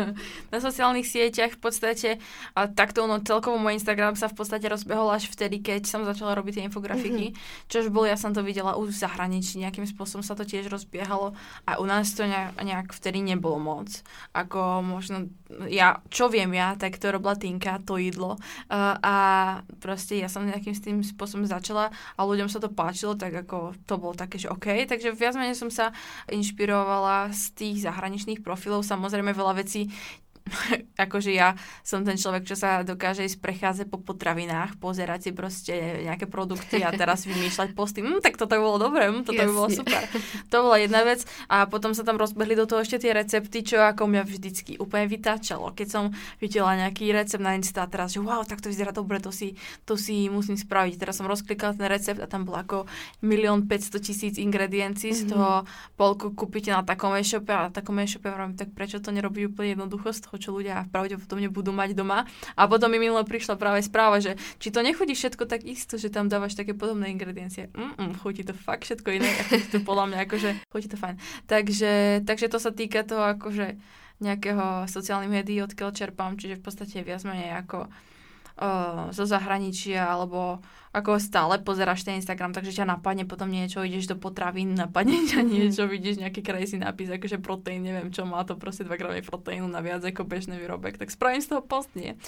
na sociálnych sieťach v podstate, a takto ono celkovo môj Instagram sa v podstate rozbehol až vtedy, keď som začala robiť tie infografiky, mm-hmm. čož bol, ja som to videla už v zahraničí, nejakým spôsobom sa to tiež rozbiehalo a u nás to nejak, nejak vtedy nebolo moc. Ako možno, ja, čo viem ja, tak to robila Tinka, to jedlo uh, a proste ja som nejakým s tým spôsobom začala a ľuďom sa to páčilo, tak ako to bolo také, že OK, takže viac menej som sa inšpirovala z tých zahraničí hraničných profilov, samozrejme veľa vecí, akože ja som ten človek, čo sa dokáže ísť prechádzať po potravinách, pozerať si proste nejaké produkty a teraz vymýšľať posty. Hm, tak toto by bolo dobré, hm, toto Jasne. by bolo super. To bola jedna vec a potom sa tam rozbehli do toho ešte tie recepty, čo ako mňa vždycky úplne vytáčalo. Keď som videla nejaký recept na Insta a teraz, že wow, tak to vyzerá dobre, to si, to si musím spraviť. Teraz som rozklikala ten recept a tam bolo ako milión päťsto tisíc ingrediencií, mm-hmm. z toho polku kúpite na takom e-shope a na takom e-shope vravím, tak prečo to nerobí úplne jednoducho z toho, čo ľudia pravdepodobne budú mať doma. A potom mi minule prišla práve správa, že či to nechutí všetko tak isto, že tam dávaš také podobné ingrediencie. Mm-mm, chutí to fakt všetko iné, a chutí to podľa mňa akože chutí to fajn. Takže, takže to sa týka toho akože nejakého sociálnych médií, odkiaľ čerpám, čiže v podstate viac menej ako uh, zo zahraničia, alebo ako stále pozeráš ten Instagram, takže ťa napadne potom niečo, ideš do potravín, napadne ťa niečo, vidíš nejaký crazy nápis, akože proteín, neviem čo, má to proste dva gramy proteínu na viac ako bežný výrobek, tak spravím z toho post, nie.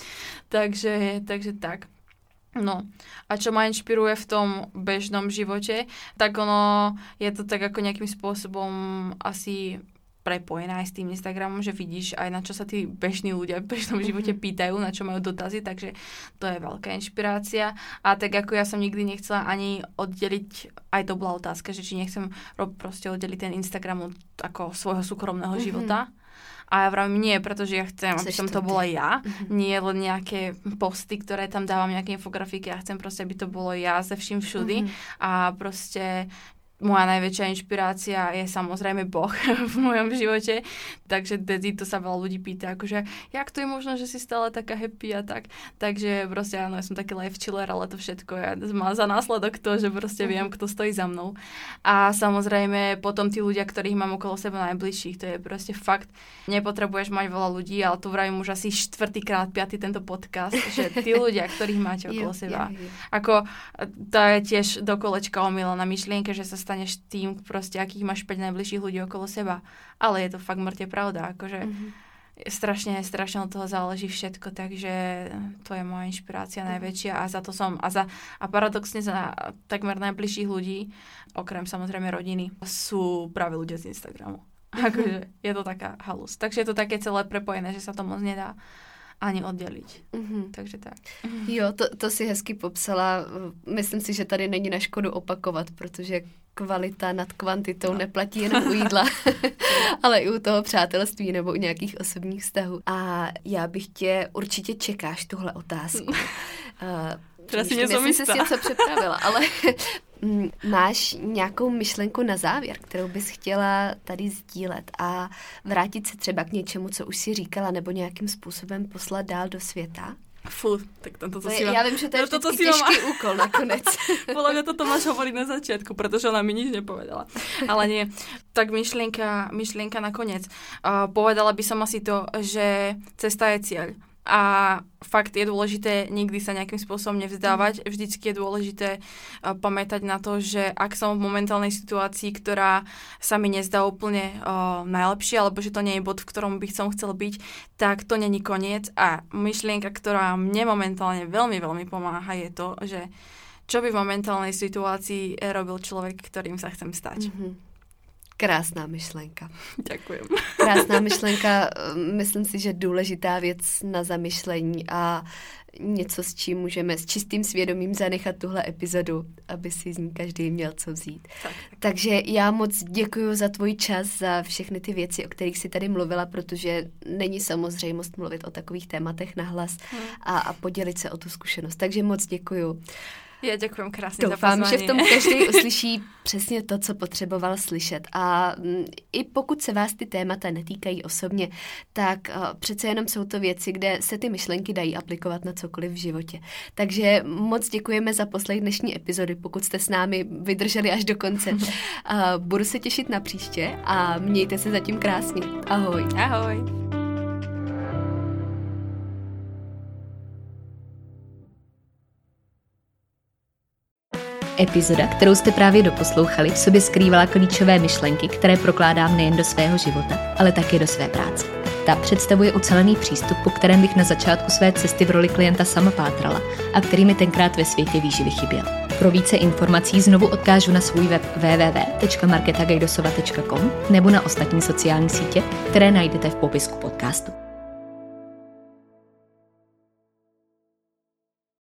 Takže, takže tak. No, a čo ma inšpiruje v tom bežnom živote, tak ono je to tak ako nejakým spôsobom asi prepojená aj s tým Instagramom, že vidíš aj na čo sa tí bežní ľudia v bežnom živote pýtajú, na čo majú dotazy, takže to je veľká inšpirácia. A tak ako ja som nikdy nechcela ani oddeliť, aj to bola otázka, že či nechcem proste oddeliť ten Instagram od ako svojho súkromného mm-hmm. života. A ja vravím nie, pretože ja chcem, aby som to bola ja, mm-hmm. nie len nejaké posty, ktoré tam dávam, nejaké infografiky, ja chcem proste, aby to bolo ja ze vším všudy mm-hmm. a proste moja najväčšia inšpirácia je samozrejme Boh v mojom živote, takže Dezi to sa veľa ľudí pýta, akože jak to je možno, že si stále taká happy a tak, takže proste áno, ja som taký life chiller, ale to všetko ja, má za následok to, že proste viem, kto stojí za mnou. A samozrejme potom tí ľudia, ktorých mám okolo seba najbližších, to je proste fakt, nepotrebuješ mať veľa ľudí, ale tu vravím už asi štvrtýkrát, piaty tento podcast, že tí ľudia, ktorých máte okolo seba, ako to je tiež do kolečka omylená myšlienka, že sa staneš tým, proste, akých máš päť najbližších ľudí okolo seba. Ale je to fakt mŕte pravda, akože mm-hmm. strašne, strašne od toho záleží všetko, takže to je moja inšpirácia mm-hmm. najväčšia a za to som, a, za, a paradoxne za takmer najbližších ľudí, okrem samozrejme rodiny, sú práve ľudia z Instagramu. Mm-hmm. Akože je to taká halus. Takže je to také celé prepojené, že sa to moc nedá ani oddělit. Mm-hmm. Takže tak. Jo, to, to si hezky popsala. Myslím si, že tady není na škodu opakovat, protože kvalita nad kvantitou no. neplatí jenom u jídla, ale i u toho přátelství nebo u nějakých osobních vztahů. A já bych tě, určitě čekáš tuhle otázku. Teda si něco myslím, si něco připravila, ale máš nějakou myšlenku na závěr, kterou bys chtěla tady sdílet a vrátit se třeba k něčemu, co už si říkala, nebo nějakým způsobem poslat dál do světa? Fú, tak toto to si mám... Já vím, že to je no, vždycky těžký má... úkol nakonec. Podľa mňa toto máš hovoriť na začiatku, pretože ona mi nič nepovedala. Ale nie. Tak myšlienka, myšlienka nakoniec. Uh, povedala by som asi to, že cesta je cieľ. A fakt je dôležité nikdy sa nejakým spôsobom nevzdávať. Vždycky je dôležité uh, pamätať na to, že ak som v momentálnej situácii, ktorá sa mi nezdá úplne uh, najlepšia, alebo že to nie je bod, v ktorom by som chcel byť, tak to není koniec. A myšlienka, ktorá mne momentálne veľmi, veľmi pomáha, je to, že čo by v momentálnej situácii robil človek, ktorým sa chcem stať. Mm-hmm. Krásná myšlenka. Děkujem. Krásná myšlenka, myslím si, že důležitá věc na zamyšlení a něco, s čím můžeme s čistým svědomím zanechat tuhle epizodu, aby si z ní každý měl co vzít. Tak, tak. Takže já moc děkuji za tvůj čas, za všechny ty věci, o kterých jsi tady mluvila, protože není samozřejmost mluvit o takových tématech nahlas hmm. a, a podělit se o tu zkušenost. Takže moc děkuji. Já děkuji krásně za pozvání. Doufám, že v tom každý uslyší přesně to, co potřeboval slyšet. A m, i pokud se vás ty témata netýkají osobně, tak uh, přece jenom jsou to věci, kde se ty myšlenky dají aplikovat na cokoliv v životě. Takže moc děkujeme za poslech dnešní epizody, pokud jste s námi vydrželi až do konce. Uh, budu se těšit na příště a mějte se zatím krásně. Ahoj. Ahoj. Epizoda, kterou jste právě doposlouchali, v sobě skrývala klíčové myšlenky, které prokládám nejen do svého života, ale také do své práce. Ta představuje ucelený přístup, po kterém bych na začátku své cesty v roli klienta sama pátrala a který mi tenkrát ve světě výživy chyběl. Pro více informací znovu odkážu na svůj web w w w tečka marketa gajdosova tečka com nebo na ostatní sociální sítě, které najdete v popisku podcastu.